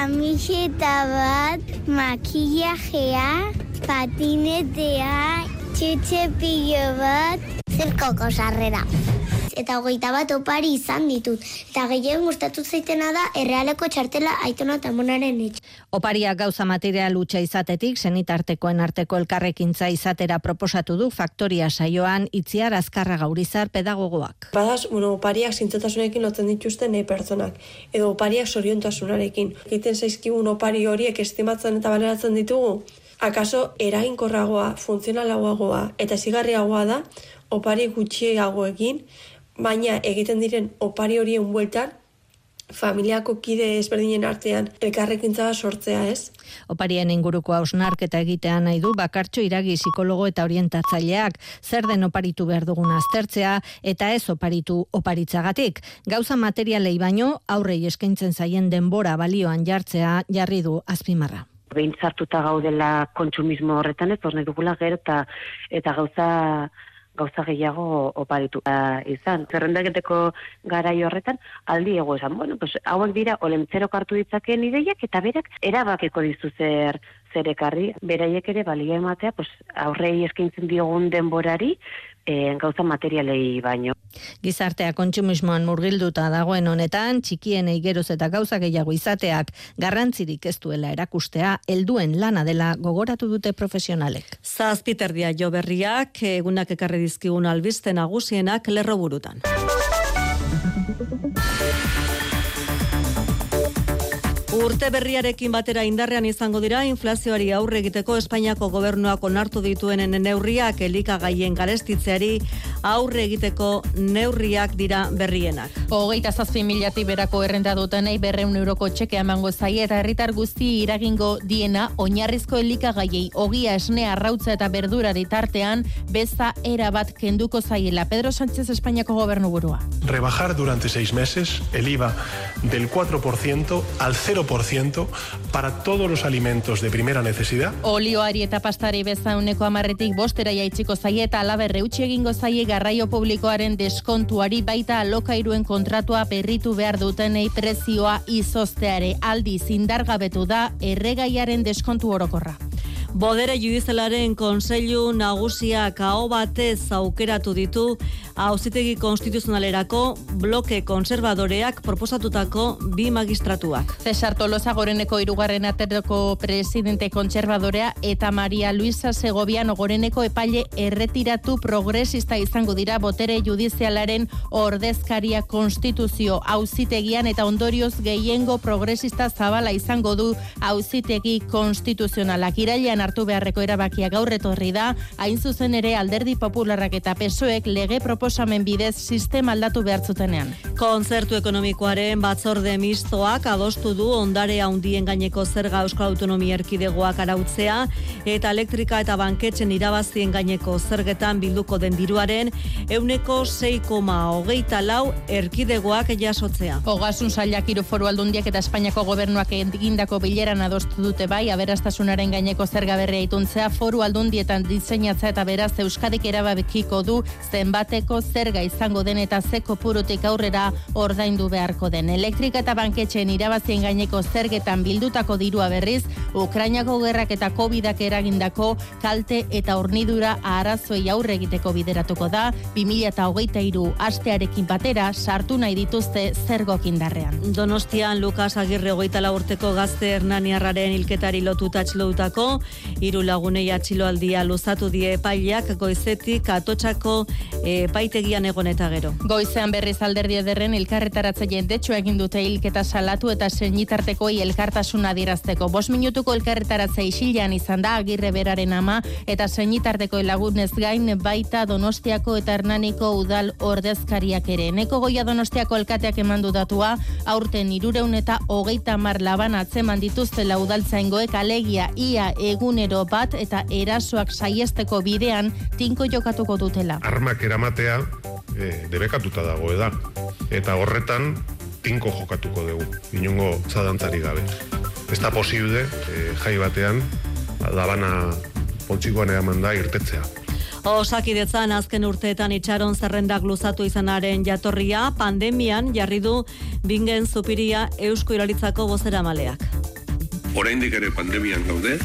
kamiseta bat, makillajea, patinetea, txutxe pilo bat, zirkoko sarrera. Eta hogeita bat opari izan ditut. Eta gehien gustatu zaitena da errealeko txartela aitona eta amonaren etxe. Opariak gauza material hutsa izatetik, senitartekoen arteko elkarrekintza izatera proposatu du Faktoria saioan Itziar Azkarra Gaurizar pedagogoak. Badaz, bueno, opariak zintzotasunekin lotzen dituzten nahi pertsonak, edo opariak soriontasunarekin. Egiten zaizkigun opari horiek estimatzen eta baleratzen ditugu, akaso eraginkorragoa, funtzionalagoagoa eta zigarriagoa da opari gutxiagoekin, baina egiten diren opari horien bueltan, familiako kide ezberdinen artean elkarrekintza sortzea, ez? Oparien inguruko hausnarketa egitea nahi du Bakartxo Iragi psikologo eta orientatzaileak, zer den oparitu behar dugun aztertzea eta ez oparitu oparitzagatik. Gauza materialei baino aurrei eskaintzen zaien denbora balioan jartzea jarri du azpimarra. Behin sartuta gaudela kontsumismo horretan, ez nahi dugula gero eta, eta gauza gauza gehiago oparitu uh, izan. Zerrendaketeko garai horretan, aldi ego esan, bueno, pues, hauek dira olentzerok hartu ditzakeen ideiak, eta berak erabakeko dizu zer, zer ekarri, beraiek ere balia ematea, pues, aurrei eskaintzen diogun denborari, e, gauza materialei baino. Gizartea kontsumismoan murgilduta dagoen honetan, txikienei geroz eta gauza gehiago izateak garrantzirik ez duela erakustea, helduen lana dela gogoratu dute profesionalek. Zazpiterdia jo berriak, egunak ekarri dizkigun albiste nagusienak lerro burutan. Urte berriarekin batera indarrean izango dira inflazioari aurre egiteko Espainiako gobernuak onartu dituen neurriak, elikagaien garestitzeari aurre egiteko neurriak dira berrienak. Hogeita zazpi milatik berako errenta dutenei berreun euroko txeke emango zaie eta herritar guzti iragingo diena oinarrizko elikagaiei ogia, esnea, arrautza eta berdurari tartean beza era bat kenduko zaiela. Pedro Sánchez, Espainiako gobernuburua. Rebajar durante seis meses el I V A del cuatro por ciento al cero por ciento para todos los alimentos de primera necesidad. Olioari eta pastari beza uneko amarretik bostera jaitsiko zaie eta alaberre utzi egingo zaie garraio publikoaren deskontuari baita alokairuen kontratua berritu behar dutenei prezioa izozteare aldiz indargabetu da erregaiaren deskontu orokorra. Bodere judizialaren kontseilu nagusiak aho batez aukeratu ditu Auzitegi Konstituzionalerako bloke konservadoreak proposatutako bi magistratuak. Cesar Tolosa Goreneko hirugarren aterako presidente kontserbadorea eta Maria Luisa Segoviano Goreneko epaile erretiratu progresista izango dira botere judizialaren ordezkaria konstituzio auzitegian eta ondorioz gehiengo progresista zabala izango du Auzitegi Konstituzionalak. Irailean hartu beharreko erabakia gaur etorri da, hain zuzen ere Alderdi Popularrak eta P S O Ek lege proposamen bidez sistema aldatu behar zutenean. Kontzertu ekonomikoaren batzorde mistoak adostu du ondare handien gaineko zerga Euskal Autonomia Erkidegoak arautzea eta elektrika eta banketzen irabazien gaineko zergetan bilduko den diruaren ehuneko sei koma hogeita lau erkidegoak jasotzea. Ogasun sailak hiru foru aldundiak eta Espainiako gobernuak egindako bileran adostu dute bai aberastasunaren gaineko zerga berria ituntzea foru aldundietan diseinatza eta beraz Euskadik erabakiko du zenbateko zerga izango den eta ze kopurutik aurrera ordaindu beharko den. Elektrika eta banketxeen irabazien gaineko zergetan bildutako dirua berriz, Ukrainako gerrak eta Covidak eragindako kalte eta hornidura arazoei aurre egiteko bideratuko da, bi mila hogeita hiru astearekin batera sartu nahi dituzte zergok indarrean. Donostian Lukas Agirre hogeita lau urteko gazte hernaniarraren hilketari lotuta atxilotutako hiru lagunei atxiloaldia luzatu die epaileak goizetik Atotxako epaitegian egon eta gero. Goizean berriz Alderdi Ederren elkarretaratzaile detxo egin dute hilketa salatu eta senitartekoei elkartasuna adierazteko. Bost minutuko elkarretaratza isilean izan da Agirre beraren ama eta senitarteko lagunez gain baita Donostiako eta Hernaniko udal ordezkariak ere. Neko Goia Donostiako alkateak emandu datua aurten hirureun eta hogeita hamar laban atzeman dituztela udaltzaingoek alegia ia egunero bat eta erasoak saiesteko bidean tinko jokatuko dutela. Armak eramatea e, debekatuta dago da eta horretan tinko jokatuko dugu, inongo zadantzari gabe. Ez da posible e, jai batean labana poltsikoan eraman da irtetzea. Osakidetzan azken urteetan itxaron zerrendak luzatu izanaren jatorria, pandemian jarri du Bingen Zupiria Eusko Jaurlaritzako bozeramaleak. Oraindik ere pandemian gaude,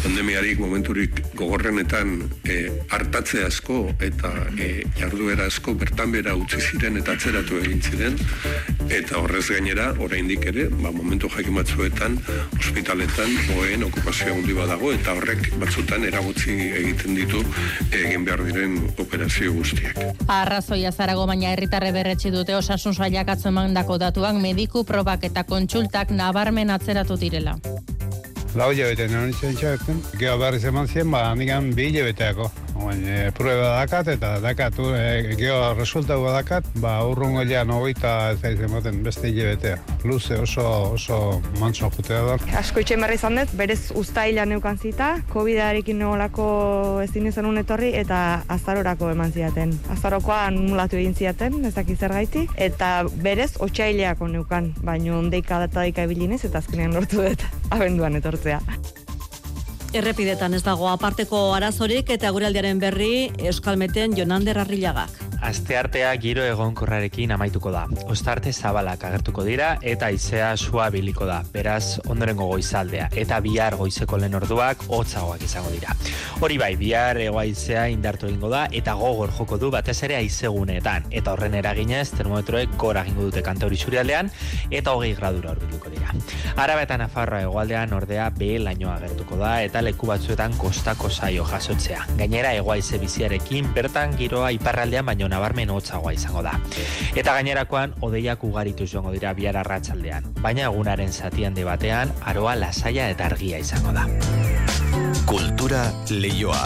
Pandemiarik momenturik gogorrenetan e, hartatze asko eta e, jarduera asko bertan bera utzi ziren eta atzeratu egin ziren, eta horrez gainera, oraindik ere, ba, momentu jakin batzuetan, ospitaletan, oen okupazio handi badago, eta horrek batzutan eragotzi egiten ditu egin behar diren operazio guztiak. Arrazoia zarago, baina herritarre berretsi dute osasun sailak atzo emandako datuak mediku probak eta kontsultak nabarmen atzeratu direla. Lau hilabete non izan txabetzen, geho berriz eman zien, ba, handikan bi hilabeteako. E, prueba dakat eta dakat, e, geho resultatu dakat, ba, urrungo ja nogeita ez da izan beste hilabetea. Luze oso, oso mantso jutea da. Asko itxen berri izan dut, berez uztaila neukan zita, COVID-arekin nolako ezin izan etorri eta azarorako eman ziaten. Azarokoa anulatu egin ziaten, ez dakiz zergaitik, eta berez otsaileako neukan, baino ondeika data daika ebilinez eta azkenean lortu dut abenduan etortzea. Errepidetan ez dago aparteko arazorik eta gure aldiaren berri Euskalmeten Jonander Arrillagak. Asteartea giro egonkorrarekin amaituko da. Ostarte zabalak agertuko dira eta haizea sua biliko da. Beraz, ondorengo goizaldea eta bihar goizeko lehen orduak hotzagoak izango dira. Hori bai, bihar hego haizea indartu egingo da eta gogor joko du batez ere haizeguneetan. Eta horren eraginez, termometroek gora egingo dute Kantauri isurialdean eta hogei gradura hurbilduko dira. Araba eta Nafarroa hegoaldean ordea behe lainoa agertuko da eta leku batzuetan kostako saio jasotzea. Gainera, hego haize biziarekin bertan giroa iparraldean baino nabarmen hotzagoa izango da. Eta gainerakoan hodeiak ugaritu joango dira bihar arratsaldean, baina egunaren zati handi batean aroa lasaia eta argia izango da. Kultura leioa.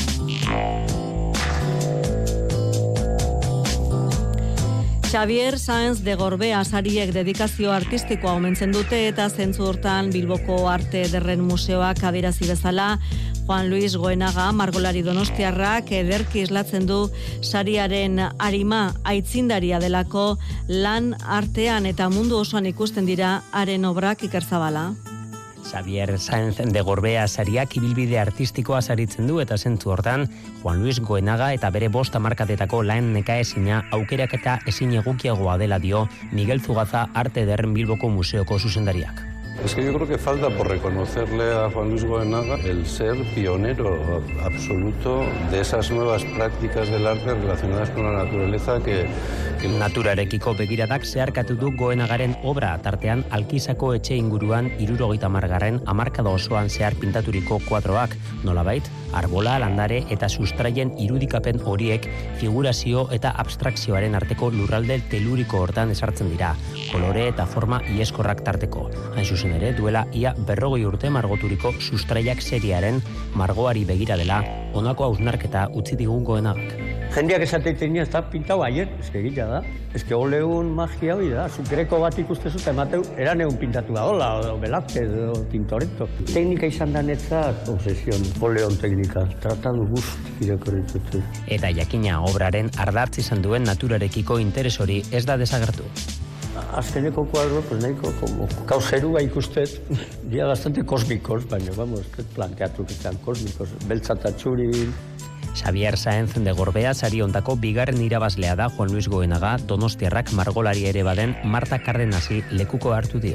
Xavier Sáenz de Gorbea sariek dedikazio artistikoa omentzen dute eta zentzu hortan Bilboko Arte Ederren Museoak adierazi bezala Juan Luis Goenaga margolari donostiarrak ederki islatzen du sariaren arima aitzindaria delako lan artean eta mundu osoan ikusten dira haren obrak Ikerzabala. Xavier Sáenz de Gorbea sariak ibilbide artistikoa saritzen du eta zentzu hortan Juan Luis Goenaga eta bere bost hamarkadetako lan nekaezina aukerak eta ezin egokiagoa dela dio Miguel Zugaza Arte Ederren Bilboko Museoko zuzendariak. Es que yo creo que falta por reconocerle a Juan Luis Goenaga el ser pionero absoluto de esas nuevas prácticas del arte relacionadas con la naturaleza que... que... Naturarekiko begiradak zeharkatu du Goenagaren obra, tartean Alkizako etxe inguruan hirurogeita hamargarren hamarkada osoan zehar pintaturiko kuadroak, nolabait, arbola, landare eta sustraien irudikapen horiek figurazio eta abstrakzioaren arteko lurralde teluriko hortan esartzen dira, kolore eta forma ieskorrak tarteko. Hain zuzen ere, duela ia berrogei urte margoturiko sustraiak seriaren margoari begira dela, honako hausnarketa utzi digun Goenagak. Jendeak esateiten ez da pintau ayer, eske egila da. Eske oleun magia hori da, zukreko bat ikustezu eta emateu, eran egun pintatu da, hola, o Velázquez, o Tintoretto. Teknika izan da netzat, obsesion, oleon teknika, tratadu guzti irakorritutu. Eta jakina obraren ardatz izan duen naturarekiko interes hori ez da desagertu. Azkeneko kuadro, pues nahiko, como kauzerua ikustet, dia bastante kosmikos, baina, vamos, planteatu izan kosmikos, beltza eta txuri. Xavier Sáenz de Gorbea sari ondako bigarren irabazlea da Juan Luis Goenaga, donostiarrak margolari ere baden Marta Cardenasi lekuko hartu dio.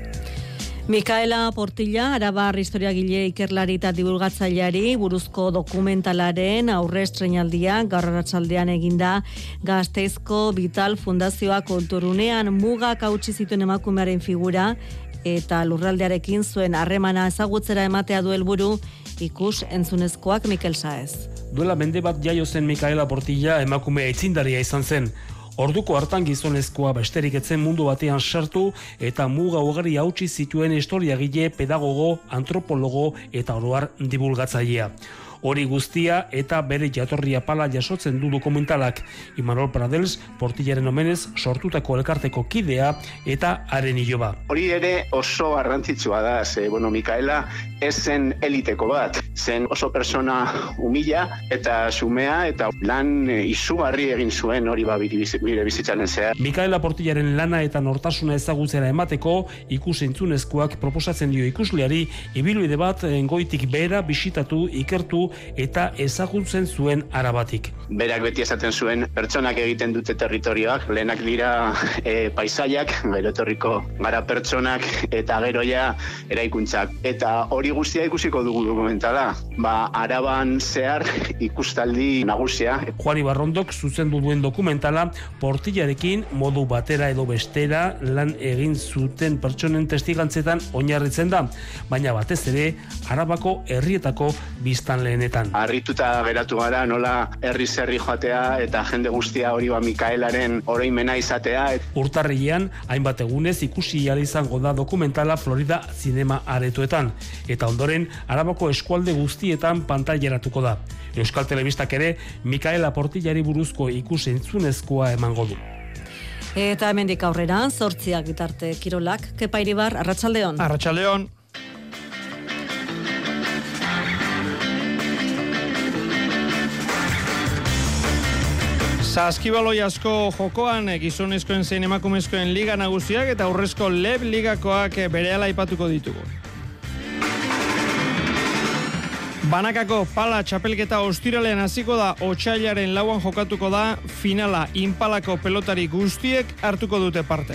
Mikaela Portilla, Arabar historiagile ikerlari eta divulgatzaileari buruzko dokumentalaren aurre estreinaldia gaur arratsaldean eginda Gasteizko Vital Fundazioa kulturunean mugak hautsi zituen emakumearen figura eta lurraldearekin zuen harremana ezagutzera ematea du helburu ikus entzunezkoak Mikel Saez. Duela mende bat jaio zen Mikaela Portilla emakume aitzindaria izan zen. Orduko hartan gizonezkoa besterik etzen mundu batean sartu eta muga ugari hautsi zituen historiagile, pedagogo, antropologo eta oroar divulgatzailea. Hori guztia eta bere jatorria pala jasotzen du dokumentalak. Imanol Pradels, Portillaren omenez sortutako elkarteko kidea eta haren iloba. Hori ere oso garrantzitsua da, ze, bueno, Mikaela ez zen eliteko bat, zen oso persona humila eta xumea eta lan izugarri egin zuen hori ba bire bizitzaren zehar. Mikaela Portillaren lana eta nortasuna ezagutzera emateko ikus-entzunezkoak proposatzen dio ikusleari ibilbide bat goitik behera bisitatu, ikertu du eta ezagutzen zuen Arabatik. Berak beti esaten zuen pertsonak egiten dute territorioak, lehenak dira e, paisaiak, gero etorriko gara pertsonak eta gero ja eraikuntzak. Eta hori guztia ikusiko dugu dokumentala, ba Araban zehar ikustaldi nagusia. Juan Ibarrondok zuzendu duen dokumentala Portillarekin modu batera edo bestera lan egin zuten pertsonen testigantzetan oinarritzen da, baina batez ere Arabako herrietako biztanleenetan. Harrituta geratu gara nola herri herri joatea eta jende guztia hori ba Mikaelaren oroimena izatea. Urtarrilean hainbat egunez ikusi ahal izango da dokumentala Florida Zinema Aretoetan eta ondoren Arabako eskualde guztietan pantaileratuko da. Euskal Telebistak ere Mikaela Portillari buruzko ikus-entzunezkoa emango du. Eta hemendik aurrera, zortziak bitarte kirolak, Kepa Iribar, Arratsaldeon. Arratsaldeon. Saskibaloi asko jokoan gizonezkoen zein emakumezkoen liga nagusiak eta aurrezko Leb ligakoak berehala aipatuko ditugu. Banakako pala txapelketa ostiralean hasiko da, otsailaren lauan jokatuko da, finala Inpalako pelotari guztiek hartuko dute parte.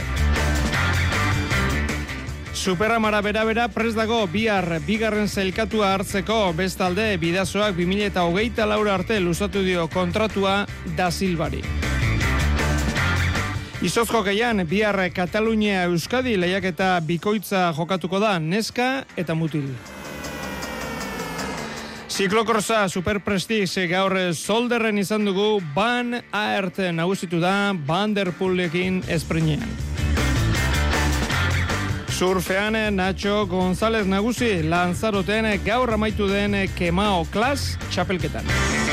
Superamara bera-bera prest dago bihar bigarren zailkatua hartzeko, bestalde bidazoak bi mila hogeita laura arte luzatu dio kontratua Da Silvari. Izoz jokeian bihar Katalunia Euskadi lehiaketa bikoitza jokatuko da, neska eta mutil. Ziklokorsa Super Prestige gaur Zolderren izan dugu, Van Aert nagusitu da Van der Poelekin esprinean. Surfean Nacho González nagusi Lanzaroten gaur amaitu den Kemao Klas txapelketan.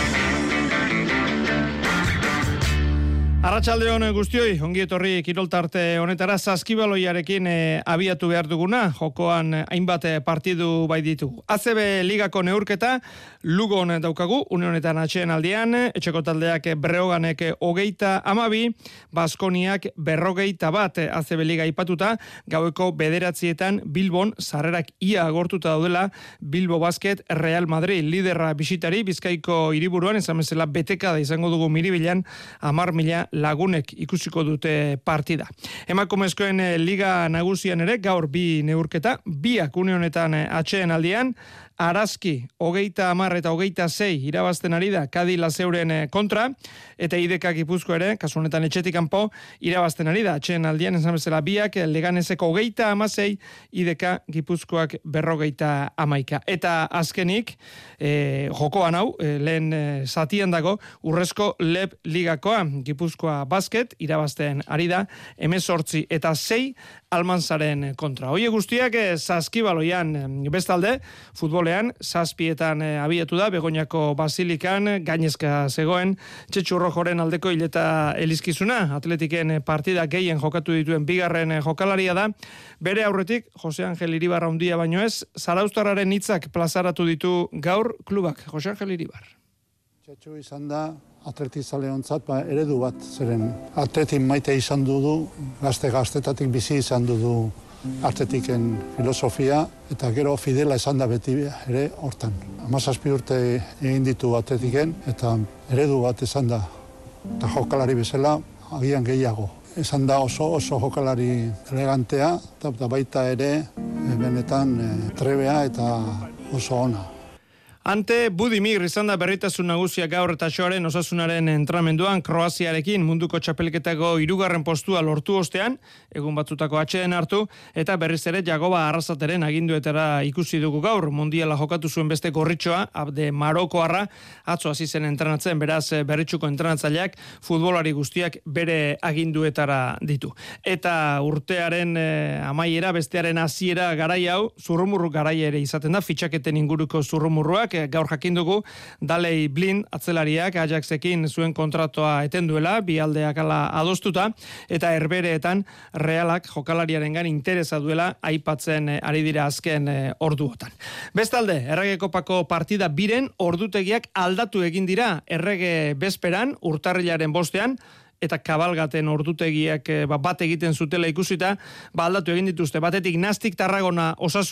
Arratsaldeon guztioi, ongi etorri kiroltarte honetara Saskibaloiarekin e, abiatu behar duguna, jokoan hainbat partidu bai ditugu. A C B ligako neurketa Lugon daukagu, une honetan atxeen aldean, etxeko taldeak Breoganek hogeita amabi, Baskoniak berrogeita bat A C B liga ipatuta, gaueko bederatzietan Bilbon sarrerak ia agortuta daudela, Bilbo Basket Real Madrid liderra bisitari, Bizkaiko hiriburuan, esan bezala beteka da izango dugu Miribilan, hamar mila lagunek ikusiko dute partida. Emakumezkoen liga nagusian ere gaur bi neurketa, biak une honetan atxeen aldean, Arazki, hogeita hamar eta hogeita sei irabazten ari da Kadi Laseuren kontra, eta Ideka Gipuzko ere, kasu honetan etxetik kanpo, irabazten ari da. Atxeen aldian, esan bezala biak, Leganeseko hogeita hamasei, Ideka Gipuzkoak berrogeita hamaika. Eta azkenik, e, jokoan hau, e, lehen e, zatian dago, urrezko Leb ligakoa, Gipuzkoa Basket, irabazten ari da, hemezortzi eta sei, Almanzaren kontra. Hoie guztiak e, Saskibaloian bestalde, futbolean, zazpietan e, abiatu da, Begoñako Basilikan, gainezka zegoen, Txetxu Rojoren aldeko hileta elizkizuna, atletiken partida gehien jokatu dituen bigarren jokalaria da, bere aurretik, Jose Angel Iribar handia baino ez, Zarauztarraren hitzak plazaratu ditu gaur klubak. Jose Angel Iribar. Txetxu izan da, atletizaleontzat ba, eredu bat, zeren atletin maite izan dudu, gazte-gaztetatik bizi izan dudu atletiken filosofia, eta gero fidela izan da beti ere hortan. Hamazazpi urte egin ditu atletiken, eta eredu bat izan da, eta jokalari bezala, agian gehiago. Izan da oso oso jokalari elegantea, eta baita ere benetan trebea eta oso ona. Ante Budimir izan da berritasun nagusia gaur eta xoaren osasunaren entramenduan Kroaziarekin munduko txapelketako hirugarren postua lortu ostean, egun batzutako atxeden hartu, eta berriz ere Jagoba Arrasateren aginduetara ikusi dugu gaur. Mundiala jokatu zuen beste gorritxoa, Abde Marokoarra, atzo hasi zen entrenatzen, beraz berritxuko entrenatzaileak futbolari guztiak bere aginduetara ditu. Eta urtearen eh, amaiera, bestearen hasiera garai hau, zurrumurru garai ere izaten da, fitxaketen inguruko zurrumurruak, gaur jakin dugu Daley Blind atzelariak Ajaxekin zuen kontratoa eten duela, bi aldeak ala adostuta, eta Herbereetan Realak jokalariarengan interesa duela aipatzen ari dira azken orduotan. Bestalde, Errege Kopako partida biren ordutegiak aldatu egin dira Errege bezperan, urtarrilaren bostean, eta kabalgaten ordutegiak bat egiten zutela ikusita, ba aldatu egin dituzte. Batetik Nastic Tarragona Osasuna,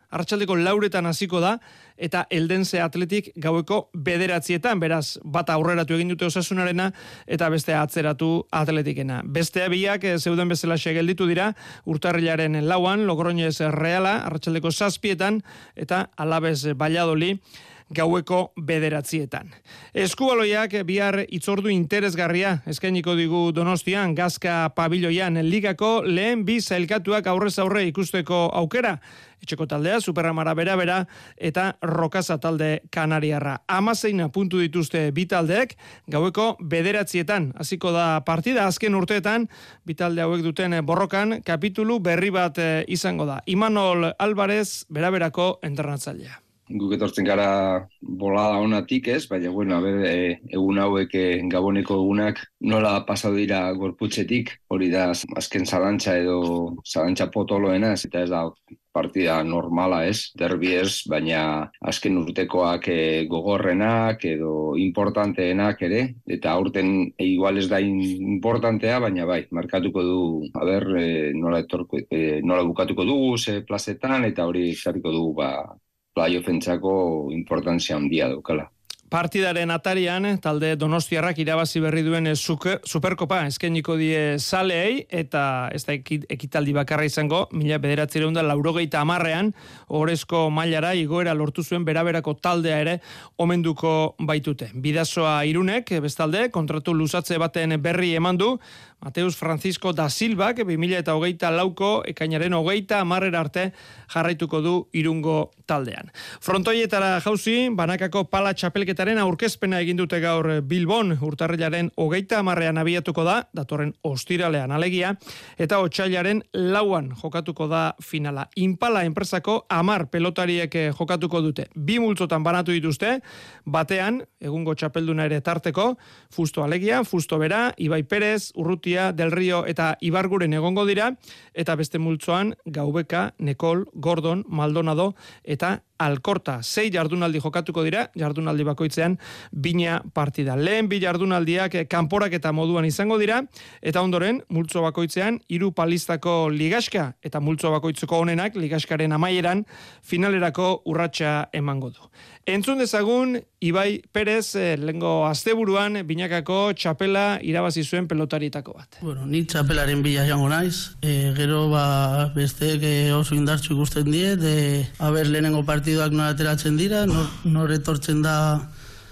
arratsaldeko lauretan hasiko da, eta Eldense Atletik gaueko bederatzietan, beraz, bata aurreratu egin dute Osasunarena, eta bestea atzeratu Atletikena. Bestea biak zeuden bezala gelditu dira, urtarrilaren lauan, Logroñez Reala, arratsaldeko zazpietan, eta Alabez Valladolid, gaueko bederatzietan. Eskubaloiak bihar itzordu interesgarria eskainiko digu Donostian, Gazka pabiloian ligako lehen bi zailkatuak aurrez aurre ikusteko aukera. Etxeko taldea, Superamara bera-bera eta Rokaza talde Kanariarra. Hamaseina puntu dituzte bi taldeek, gaueko bederatzietan. Hasiko da partida, azken urteetan, bi talde hauek duten borrokan, kapitulu berri bat izango da. Imanol Alvarez, bera-berako entrenatzailea. Guk etortzen gara bolada onatik, ez? Baina, bueno, a ber, e, egun hauek e, Gaboneko egunak nola pasatu dira gorputzetik, hori da azken zalantza edo zalantza potoloena, ez? Eta ez da partida normala, ez? Derbi ez, baina azken urtekoak e, gogorrenak edo importanteenak ere, eta aurten e, igual ez da importantea, baina bai, markatuko du, a ber, e, nola, etorko, e, nola bukatuko dugu, ze plazetan, eta hori zariko dugu, ba, playoffentzako importantzia handia daukala. Partidaren atarian, talde Donostiarrak irabazi berri duen Superkopa eskainiko die zaleei, eta ez da ekitaldi bakarra izango, mila bederatziehun eta laurogeita hamarrean, orezko mailara igoera lortu zuen beraberako taldea ere omenduko baitute. Bidasoa Irunek, bestalde, kontratu luzatze baten berri eman du, Mateus Francisco da Silvak, bi mila eta hogeita lauko, ekainaren hogeita hamarrera arte jarraituko du Irungo taldean. Frontoietara jauzi, banakako pala txapelketaren aurkezpena egin dute gaur Bilbon, urtarrilaren hogeita hamarrean abiatuko da, datorren ostiralean alegia, eta otsailaren lauan jokatuko da finala. Impala enpresako hamar pelotariek jokatuko dute. Bi multzotan banatu dituzte, batean, egungo txapelduna ere tarteko, Fusto alegia, Fusto bera, Ibai Perez, Urruti Del Rio eta Ibarguren egongo dira, eta beste multzoan Gaubeka, Nekol, Gordon, Maldonado eta Alkorta. Sei jardunaldi jokatuko dira, jardunaldi bakoitzean bina partida. Lehen bi jardunaldiak kanporak eta moduan izango dira, eta ondoren multzo bakoitzean hiru palistako ligaska, eta multzo bakoitzeko honenak ligaskaren amaieran finalerako urratsa emango du. Entzun dezagun, Ibai Perez lehengo asteburuan binakako txapela irabazi zuen pelotarietako bat. Bueno, nik txapelaren bila jango naiz, e, gero ba, besteek e, oso indartsu ikusten die, de haber lehenengo partiduak nora ateratzen dira, nor, nor etortzen da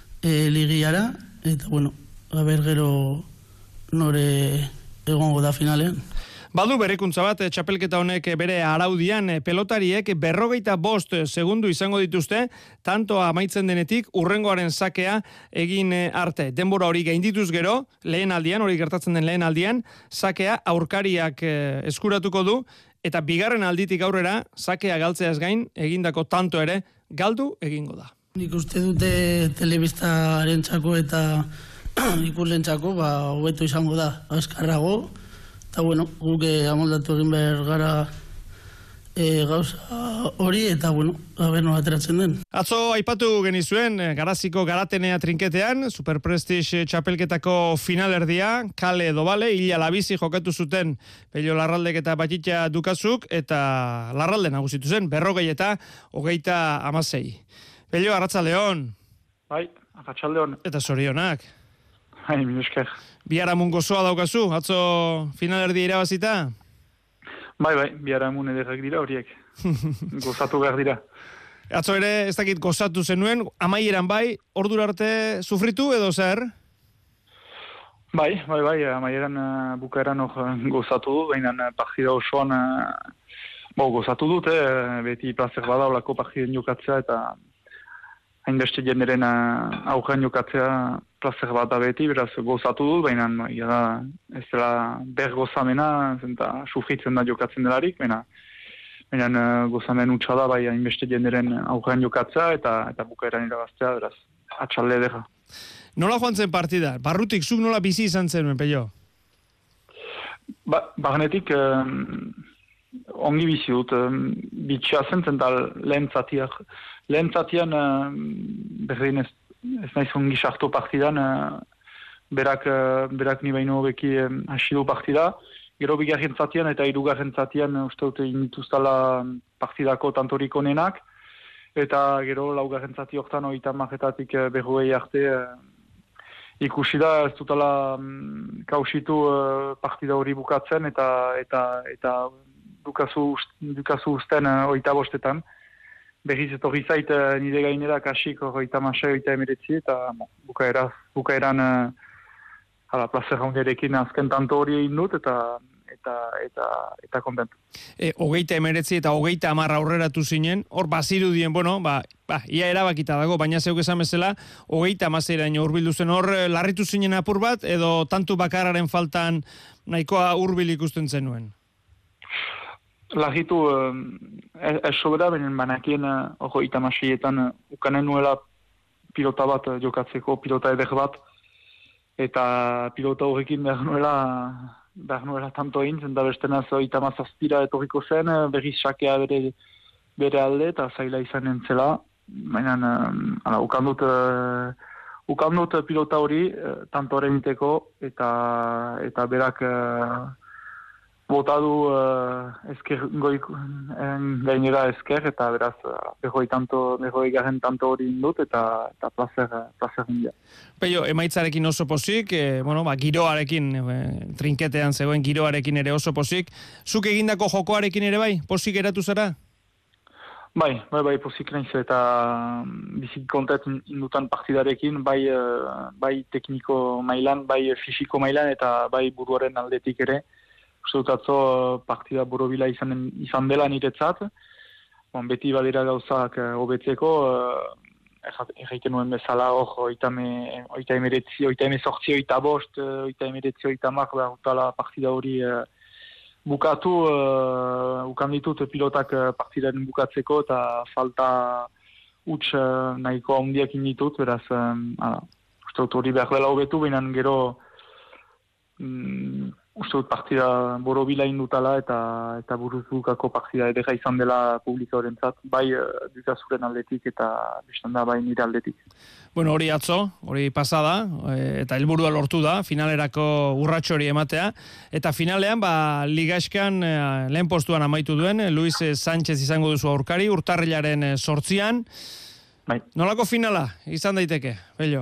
e, ligiara, eta bueno, haber gero nore egongo da finalean. Badu berekuntza bat, txapelketa honek bere araudian pelotariek berrogeita bost segundu izango dituzte, tanto amaitzen denetik urrengoaren sakea egin arte. Denbora hori gaindituz gero, lehen aldian, hori gertatzen den lehen aldian, sakea aurkariak eskuratuko du, eta bigarren alditik aurrera, sakea galtzeaz gain, egindako tanto ere, galdu egingo da. Nik uste dute telebistaren txako eta ikuslen txako, ba, hobeto izango da, azkarrago, eta bueno, guk amoldatu egin behar gara e, gauza hori, eta bueno, haber nola ateratzen den. Atzo aipatu genizuen, Garaziko Garatenea trinketean, Super Prestige txapelketako finalerdia, kale edo bale, hila labizi jokatu zuten Pello Larraldek eta Batitxa Dukazuk, eta Larralde nagusitu zen, berrogei eta hogeita amasei. Pello, arratzaldeon. Bai, arratzaldeon. Eta zorionak. Hai, mi esker. Biharamun gozoa daukazu, atzo finalerdia irabazita? Bai, bai, biharamun ederrak dira horiek. Gozatu behar dira. Atzo ere, ez dakit gozatu zenuen, amaieran bai, ordura arte sufritu edo zer? Bai, bai, bai, amaieran uh, bukaeran uh, gozatu du, baina uh, partida osoan uh, bo, gozatu dut, eh, beti plazer bada olako partiden jokatzea, eta hainbeste jenderen uh, aurrean jokatzea plazer bat da beti, beraz gozatu dut, baina ja da, ez dela ber gozamena, eta sufritzen da jokatzen delarik, baina baina uh, gozamen utxa da, bai hainbeste jenderen aurrean jokatzea, eta eta bukaeran irabaztea, beraz, atxalde edera. Nola joan zen partida? Barrutik zuk nola bizi izan zenuen, Pello? Ba, barnetik um, ongi bizi dut, um, bitxea zen zen da lehen zatiak. Lehen zatian uh, berdin ez, ez nahiz ongi sartu partidan, uh, berak, uh, berak ni baino beki um, hasi du partida, gero bigarren zatian eta hirugarren zatian uste dute inituztala partidako tantorik onenak, eta gero laugarren zati hortan oita marretatik berroei arte ikusi da ez dutala um, kausitu uh, partida hori bukatzen eta eta eta dukazu, dukazu usten uh, oita bostetan. Berriz etorri zait uh, nire gainera kasik oita masai, oita emeretzi eta bon, bukaera, bukaeran uh, hala, plazer handiarekin azken tanto hori egin dut eta eta eta eta kontentu. E, hogeita emeretzi eta hogeita hamar aurreratu zinen, hor bazirudien, bueno, ba, ba, ia erabakita dago, baina zeuk esan bezala, hogeita hamaseiraino hurbildu zen, hor larritu zinen apur bat, edo tantu bakarraren faltan nahikoa hurbil ikusten zenuen? Larritu, ez eh, sobera, benen banakien hogeita hamaseietan ukanen nuela pilota bat jokatzeko, pilota eder bat, eta pilota horrekin behar nuela behar nuela tanto egin, zenta bestenaz oita mazazpira etorriko zen, berriz sakea bere, bere alde, eta zaila izan entzela. Baina, uh, ukandut, uh, ukandut pilota hori, uh, tanto horremiteko, eta, eta berak uh, botadu uh, esker, goik, gainera esker, eta beraz, uh, behoi tanto, behoi garen tanto hori indut, eta, eta placer, placer india. Peio, emaitzarekin oso pozik, e, bueno, ba, giroarekin, e, trinketean zegoen giroarekin ere oso pozik. Zuk egindako jokoarekin ere bai, pozik eratu zara? Bai, bai, bai, pozik naiz eta bizik kontet indutan partidarekin, bai, bai tekniko mailan, bai fisiko mailan, eta bai buruaren aldetik ere. Uste dut atzo partida borobila izan, izan dela niretzat. Bon, beti badira gauzak hobetzeko, erraiten nuen bezala, hor, oita emeretzi, oita emezortzi, oita bost, oita emeretzi, oita mar, behar utala partida hori uh, bukatu, uh, ukan ditut pilotak partidaren bukatzeko, eta falta huts uh, nahiko handiak inditut, beraz, um, uste dut hori behar dela hobetu, behinan gero, um, uste dut partida borobila indutala eta eta buruzukako partida edera izan dela publika horrentzat, bai uh, dukazuren aldetik eta bestan da bai nire aldetik. Bueno, hori atzo, hori pasada, eta helburua lortu da, finalerako urratxo hori ematea, eta finalean, ba, ligaxkan eh, lehen postuan amaitu duen, Luis Sánchez izango duzu aurkari, urtarrilaren sortzian. Bai. Nolako finala izan daiteke, Bello?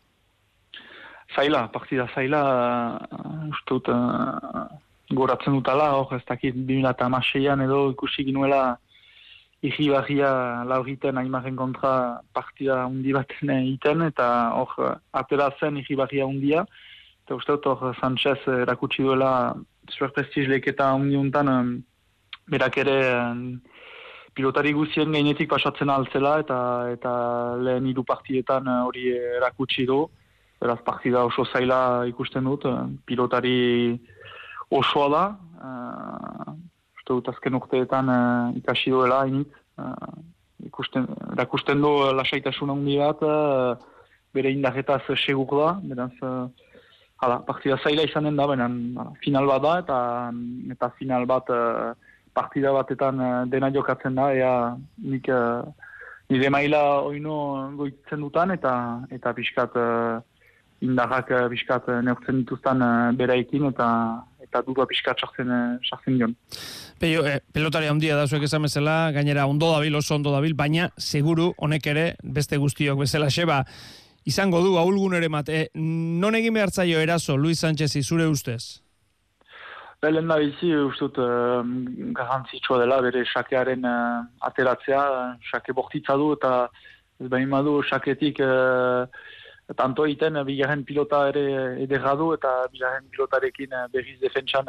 Zaila, partida zaila, uh, uste dut, uh, goratzen dutala, hor, ez dakit, bi mila hamaseian edo ikusi ginuela irribarria lauriten aimaren kontra partida hundi baten iten, eta hor, atera zen irribarria hundia, eta uste dut, hor, Sánchez erakutsi duela zuer prestiz leketa hundi untan, um, berak ere um, pilotari guzien gainetik pasatzen altzela, eta, eta lehen hiru partietan hori uh, erakutsi du. Beraz, partida oso zaila ikusten dut, pilotari osoa da, uh, uste dut azken urteetan uh, ikasi duela hainit, uh, ikusten, erakusten du lasaitasun handi bat, uh, bere indarretaz segur da, beraz, uh, hala, partida zaila izanen da, benen, final bat da, eta, eta final bat uh, partida batetan uh, dena jokatzen da, ea nik uh, nire maila oino goitzen dutan, eta, eta pixkat uh, indarrak biskat neurtzen dituzten beraikin eta eta dudua biskat sartzen sartzen dion. Peio, eh, pelotari handia da zuek esan bezala, gainera ondo dabil, oso ondo dabil, baina seguru honek ere beste guztiok bezala xeba izango du ahulgun ere mate. Non egin behar zaio eraso Luis Sánchez zure ustez? Belen da bizi, ustut uh, garrantzitsua dela bere xakearen uh, ateratzea, xake bortitza du eta ez behin badu xaketik uh, tanto egiten, bigarren pilota ere ederra du, eta bigarren pilotarekin berriz defentsan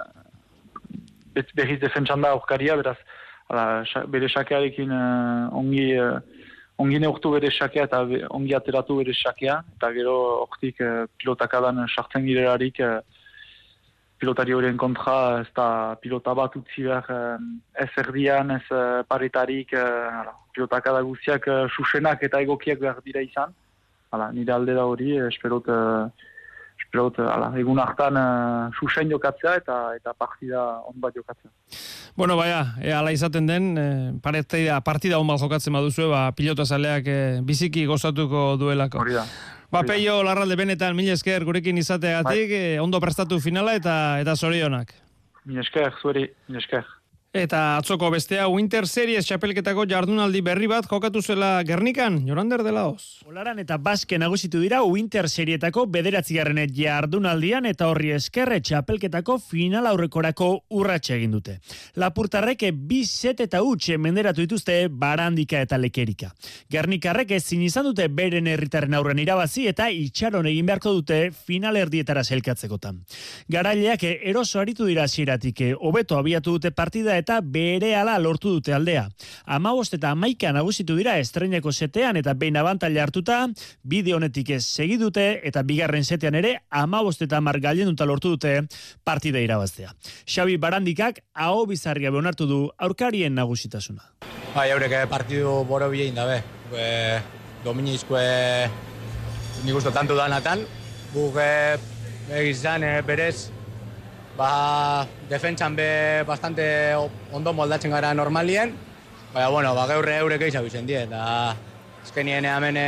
berriz defentsan da aurkaria, beraz, ala, bere xakearekin uh, ongi, uh, ongi neurtu bere xakea eta be, ongi ateratu bere xakea, eta gero hortik uh, pilotakadan sartzen girelarik uh, pilotari horien kontra, ez da pilota bat utzi behar uh, ez erdian, ez uh, paretarik, uh, pilotakada guztiak uh, susenak eta egokiak behar dira izan. Hala, nire alde da hori, esperot, uh, esperot, hala, egun hartan uh, susen jokatzea eta eta partida on bat jokatzea. Bueno, baia, e, ala izaten den, e, partida, partida on bat jokatzen baduzue, ba, pilotazaleak e, biziki gozatuko duelako. Hori da. Ba, Peio Larralde, benetan, mila esker gurekin izateagatik, e, ondo prestatu finala eta eta zorionak. Mila esker, zueri, mila esker. Eta atzoko bestea Winter Series txapelketako jardunaldi berri bat jokatu zela Gernikan, Jorander de Laoz. Olaran eta Baske nagusitu dira Winter Serietako bederatzigarren jardunaldian eta horri eskerre txapelketako final aurrekorako urratxe egin dute. Lapurtarrek bi set eta utxe menderatu dituzte Barandika eta Lekerika. Gernikarrek ezin izan dute beren herritarren aurren irabazi eta itxaron egin beharko dute final erdietara sailkatzekotan. Garaileak eroso aritu dira hasieratik, hobeto abiatu dute partida eta berehala lortu dute aldea. Hamabost eta hamaika nagusitu dira estreinako setean eta behin abantaila hartuta, bide honetik ez segi dute eta bigarren setean ere hamabost eta hamar gailenduta lortu dute partida irabaztea. Xabi Barandikak aho bizarria onartu du aurkarien nagusitasuna. Bai, haurek partidu boro bilein dabe. E, Dominizkoe nik uste tanto danatan, guk egizan e, berez ba, defentsan be bastante ondo moldatzen gara normalien, baina, bueno, ba, geurre eurek gehiago izen die, eta eskenien hemen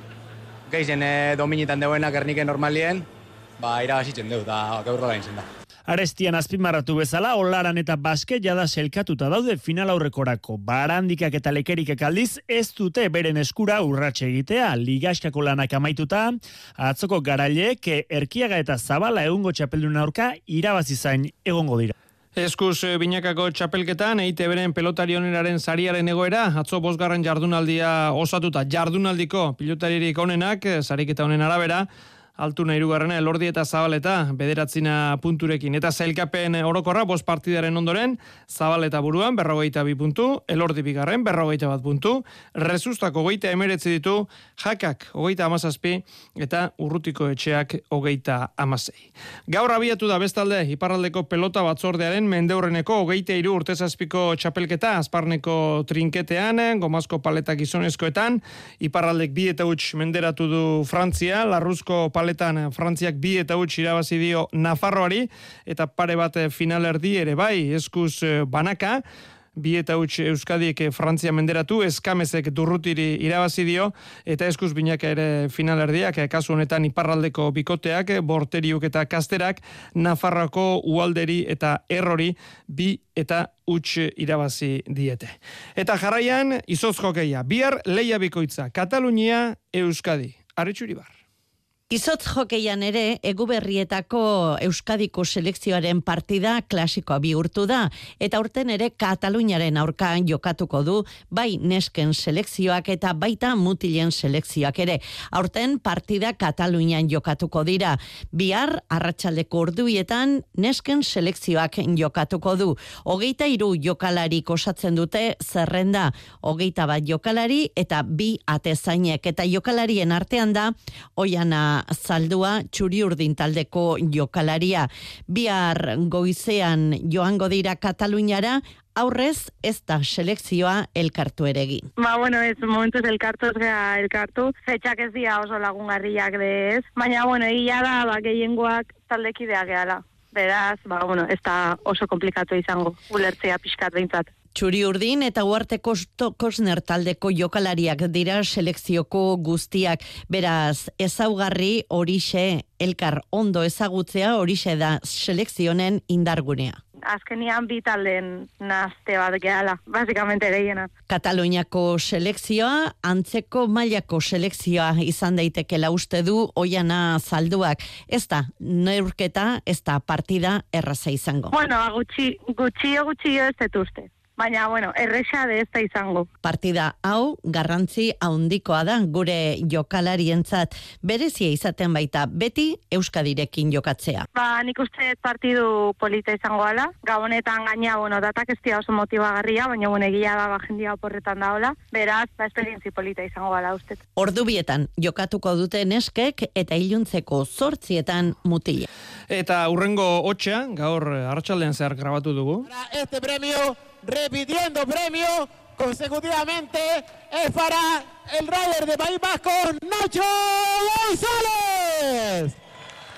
gehien dominitan deuenak erniken normalien, ba, irabazitzen deu, eta geurro gain zen da. Arestian azpimarratu bezala, Olaran eta Baske jada selkatuta daude final aurrekorako. Barandikak eta Lekerikak aldiz ez dute beren eskura urratxe egitea. Ligaskako lanak amaituta, atzoko garaileek Erkiaga eta Zabala egungo txapeldun aurka irabazi zain egongo dira. Eskuz binakako txapelketan, E I T Bren pelotari oneraren sariaren egoera, atzo bosgarren jardunaldia osatuta. Jardunaldiko pilotaririk onenak, sariketa honen arabera, Altuna hirugarrena Elordi eta Zabaleta bederatzina punturekin. Eta zailkapen orokorra bost partidaren ondoren, Zabaleta buruan berrogeita bi puntu, Elordi bigarren berrogeita bat puntu, Rezustako hogeita emeretzi ditu, Jakak hogeita hamazazpi eta Urrutiko etxeak hogeita hamasei. Gaur abiatu da bestalde iparraldeko pelota batzordearen mendeurreneko hogeita hiru urtezazpiko txapelketa Azparneko trinketean, Gomazko paleta gizonezkoetan, iparraldek bi eta huts menderatu du Frantzia, Larruzko paleta Paletan Frantziak bi eta huts irabazi dio Nafarroari eta pare bat finalerdi ere bai, eskuz banaka, bi eta huts Euskadiek Frantzia menderatu, Eskamezek Durrutiri irabazi dio eta eskuz binaka ere finalerdiak, kasu honetan iparraldeko bikoteak, Borteriuk eta Kasterak, Nafarroako Ualderi eta Errori bi eta huts irabazi diete. Eta jarraian, izoz jokeia, bihar leia bikoitza, Katalunia, Euskadi, Arritxuribar. Izotz jokeian ere, Eguberrietako Euskadiko selekzioaren partida klasikoa bihurtu da, eta urten ere Kataluniaren aurka jokatuko du, bai nesken selekzioak eta baita mutilen selekzioak ere. Aurten partida Katalunian jokatuko dira. Bihar, arratsaldeko orduietan, nesken selekzioak jokatuko du. Hogeita hiru jokalarik osatzen dute zerrenda, hogeita bat jokalari eta bi atezainek, eta jokalarien artean da, Oiana Zaldua txuri urdin taldeko jokalaria. Bihar goizean joango dira Kataluniara, aurrez ez da selekzioa elkartu ere egin. Ba, bueno, ez momentuz elkartu ez gara elkartu, fetxak ez dira oso lagungarriak de ez, baina, bueno, egia da, ba, gehiengoak taldekideak gehala. Beraz, ba, bueno, ez da oso komplikatu izango, ulertzea pixkat behintzat. Txuri urdin eta Uarte Kosner taldeko jokalariak dira selekzioko guztiak. Beraz, ezaugarri horixe elkar ondo ezagutzea horixe da selekzionen indargunea. Azkenian bi taldeen nazte bat gehala, basikamente gehiena. Kataluniako selekzioa, antzeko mailako selekzioa izan daitekela uste du Oiana Zalduak. Ez da, neurketa, ez da partida erraza izango. Bueno, gutxi, gutxi, gutxi ez dut uste. Baina, bueno, erresa de ez da izango. Partida hau garrantzi handikoa da gure jokalarientzat, berezia izaten baita beti Euskadirekin jokatzea. Ba, nik uste partidu polita izango ala. Gabonetan gaina, bueno, datak ez dira oso motibagarria, baina bueno, egia da ba, jendia oporretan da hola. Beraz, ba, esperientzi polita izango ala uste. Ordubietan jokatuko dute neskek eta iluntzeko zortzietan mutila. Eta urrengo hotxea, gaur arratsaldean zehar grabatu dugu. Este premio repitiendo premio consecutivamente es para el rider de País Vasco, Nacho González.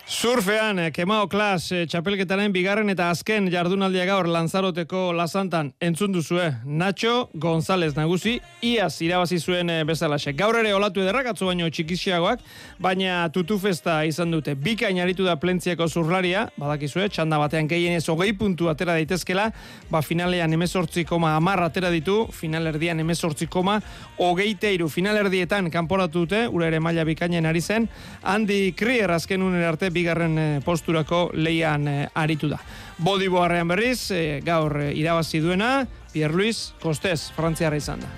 Surfean, Kemao Klas, txapelketaren bigarren eta azken jardunaldia gaur Lanzaroteko Lazantan entzun duzue. Nacho González nagusi, iaz irabazi zuen bezalaxe. Gaur ere olatu ederrak, atzo baino txikixiagoak, baina tutufesta izan dute. Bikain aritu da Plentziako zurlaria, badakizue, txanda batean gehienez hogei puntu atera daitezkela, ba finalean emezortzi koma hamar atera ditu, finalerdian emezortzi koma hogeita hiru. Finalerdietan kanporatu dute, ura ere maila bikainen ari zen, Andy Krier azken unen arte bigarren posturako leian aritu da. Bodiboarrean berriz, e, gaur e, irabazi duena, Pierre Luis Kostez, frantziarra izan da.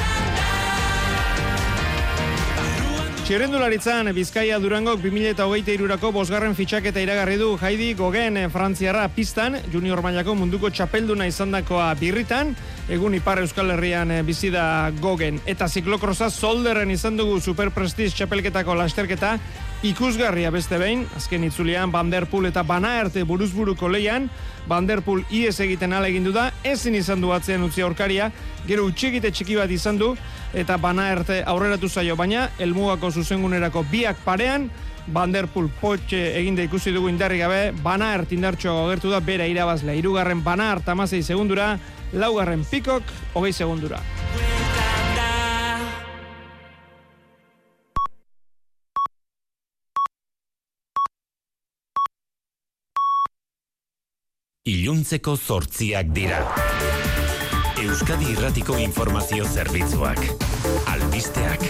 Txirrendularitzan, Bizkaia Durangok bi mila hogeita hirurako bosgarren fitxaketa iragarri du Heidi Gogen frantziarra pistan, junior mailako munduko txapelduna izandakoa birritan, egun Ipar Euskal Herrian bizi da Gogen. Eta ziklokrosa Zolderren izan dugu Superprestige txapelketako lasterketa, ikusgarria beste behin, azken itzulian Van der Poel eta Van Aert buruzburuko leian, Van der Poel ies egiten alegin du da, ezin izan du atzean utzi aurkaria, gero utxegite txiki bat izan du, eta Van Aert aurreratu zaio, baina helmugako zuzengunerako biak parean, Van der Poel potxe eginde ikusi dugu indarri gabe, Van Aert indartxoa agertu da, bera irabazle, hirugarren Van Aert hamasei segundura, laugarren Pikok hogei segundura. Iluntzeko zortziak dira. Euskadi Irratiko Informazio Zerbitzuak. Albisteak.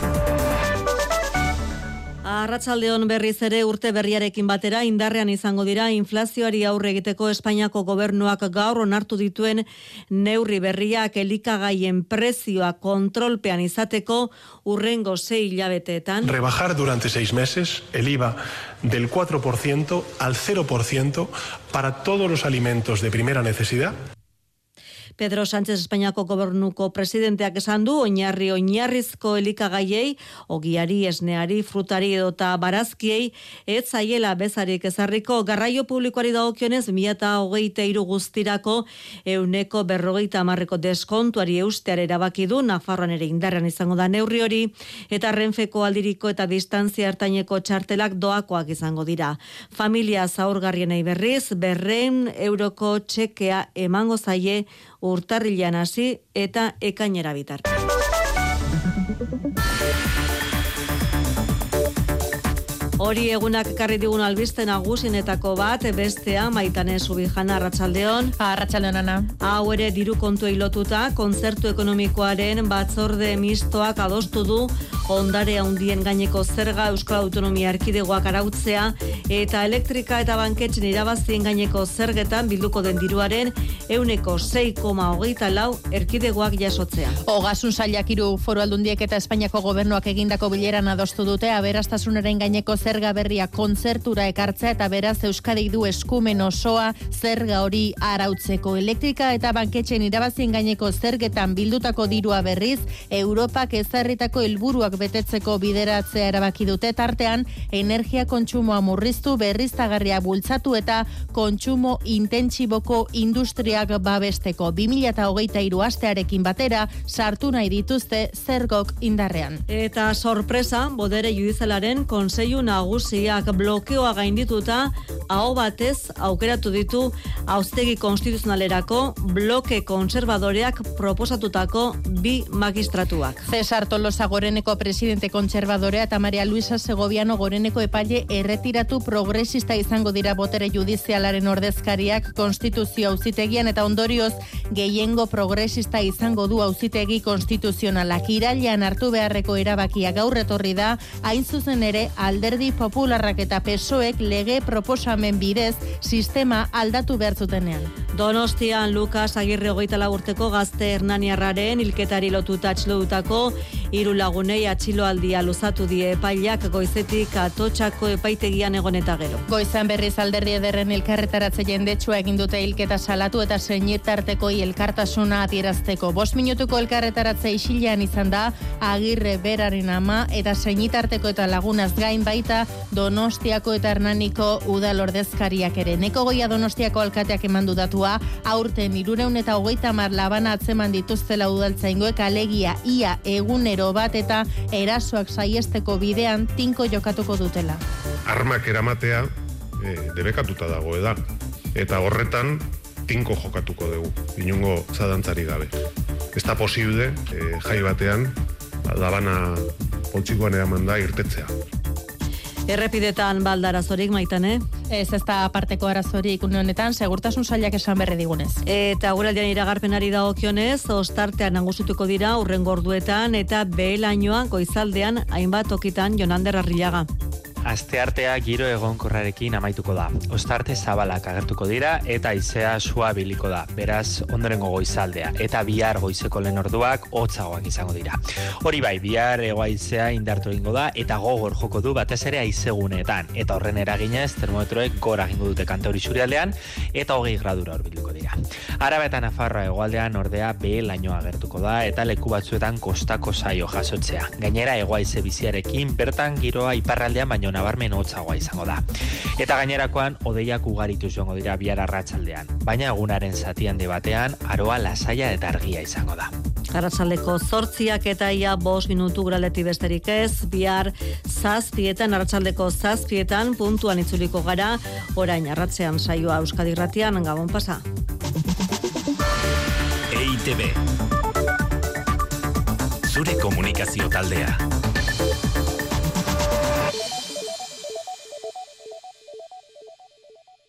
Arratsaldeon berriz ere urte berriarekin batera indarrean izango dira inflazioari aurre egiteko Espainiako gobernuak gaur onartu dituen neurri berriak elikagaien prezioa kontrolpean izateko urrengo sei hilabeteetan. Rebajar durante seis meses el I V A del cuatro por ciento al cero por ciento para todos los alimentos de primera necesidad. Pedro Sánchez Espainiako gobernuko presidenteak esan du oinarri oinarrizko elikagaiei, ogiari, esneari, frutari edota barazkiei ez zaiela bezarik ezarriko. Garraio publikoari dagokionez mila hogeita hiru guztirako ehuneko berrogeita hamarreko deskontuari eusteare erabaki du, Nafarroan ere indarrean izango da neurri hori, eta Renfeko aldiriko eta distantzia ertaineko txartelak doakoak izango dira. Familia zaurgarrienei berriz, berrehun euroko txekea emango zaie urtarrilean hasi eta ekainera bitarte. Hori egunak ekarri digun albiste nagusienetako bat, bestea Maitane Subijana, arratsaldeon. Arratsaldeon, Ana. Hau ere diru kontuei lotuta, kontzertu ekonomikoaren batzorde mistoak adostu du ondare handien gaineko zerga Euskal Autonomia Erkidegoak arautzea eta elektrika eta banketxen irabazien gaineko zergetan bilduko den diruaren ehuneko sei koma hogeita lau erkidegoak jasotzea. Ogasun sailak hiru foru aldundiek eta Espainiako gobernuak egindako bileran adostu dute aberastasunaren gaineko zerga berria kontzertura ekartzea eta beraz Euskadi du eskumen osoa zerga hori arautzeko. Elektrika eta banketxen irabazien gaineko zergetan bildutako dirua berriz Europak ezarritako helburuak betetzeko bideratzea erabaki dute, tartean energia kontsumoa murriztu, berriztagarria bultzatu eta kontsumo intentsiboko industriak babesteko. bi mila hogeita hiru astearekin batera sartu nahi dituzte zergok indarrean. Eta sorpresa, bodere judizialaren kontseilu nagusiak blokeoa gaindituta aho batez aukeratu ditu auzitegi konstituzionalerako bloke konservadoreak proposatutako bi magistratuak. Cesar Tolosa Goreneko presidente kontserbadorea eta Maria Luisa Segoviano Goreneko epaile erretiratu progresista izango dira botere judizialaren ordezkariak konstituzio auzitegian eta ondorioz gehiengo progresista izango du auzitegi konstituzionalak. Irailean hartu beharreko erabakia gaur etorri da, hain zuzen ere Alderdi Popularrak eta P S O Ek lege proposamen bidez sistema aldatu behar zutenean. Donostian Lukas Agirre hogeita lau urteko gazte hernaniarraren hilketari lotuta atxilotutako hiru lagunei atxiloaldia luzatu die epaileak goizetik Atotxako epaitegian egon eta gero. Goizan berriz Alderdi Ederren elkarretaratze jendetsua egin dute hilketa salatu eta senitartekoi elkartasuna adierazteko. Bost minutuko elkarretaratze isilean izan da Agirre beraren ama eta senitarteko eta lagunaz gain baita Donostiako eta Hernaniko udal ordezkariak ere. Neko Goia Donostiako alkateak emandu datua, aurten hirurehun eta hogeita hamar labana atzeman dituztela udaltzaingoek, alegia ia egunero bat eta erasoak saiesteko bidean tinko jokatuko dutela. Armak eramatea e, debekatuta dago eda. Eta horretan tinko jokatuko dugu, inongo zadantzari gabe. Ez da posible e, jai batean dabana poltsikoan eraman da irtetzea. Errepidetan balda arazorik, Maitane? Ez, ez da aparteko arazorik une honetan, segurtasun sailak esan berri digunez. Eta guraldian iragarpenari dagokionez, ostartean nagusituko dira urrengo orduetan eta behelainoan goizaldean hainbat tokitan Jonander Arrillaga. Asteartea giro egonkorrarekin amaituko da. Ostarte zabalak agertuko dira eta haizea suabiliko da. Beraz, ondorengo goizaldea eta bihar goizeko lehen orduak hotzagoak izango dira. Hori bai, bihar hego haizea indartu egingo da eta gogor joko du batez ere haizeguneetan. Eta horren eraginez, termometroek gora egingo dute Kantauri isurialdean eta hogei gradura hurbilduko dira. Araba eta Nafarroa hegoaldean ordea behelaino agertuko da eta leku batzuetan kostako zaio jasotzea. Gainera, hego haize biziarekin bertan giroa iparraldean baino nabarmen hotzagoa izango da. Eta gainerakoan hodeiak ugarituz joango dira bihar arratsaldean, baina egunaren zati handi batean aroa lasaia eta argia izango da. Arratsaldeko zortziak eta ia bost minutu guraldetik besterik ez, bihar zazpietan, arratsaldeko zazpietan puntuan itzuliko gara, orain arratsean saioa Euskadi Irratian, Gabon pasa. E I T B. Zure komunikazio taldea.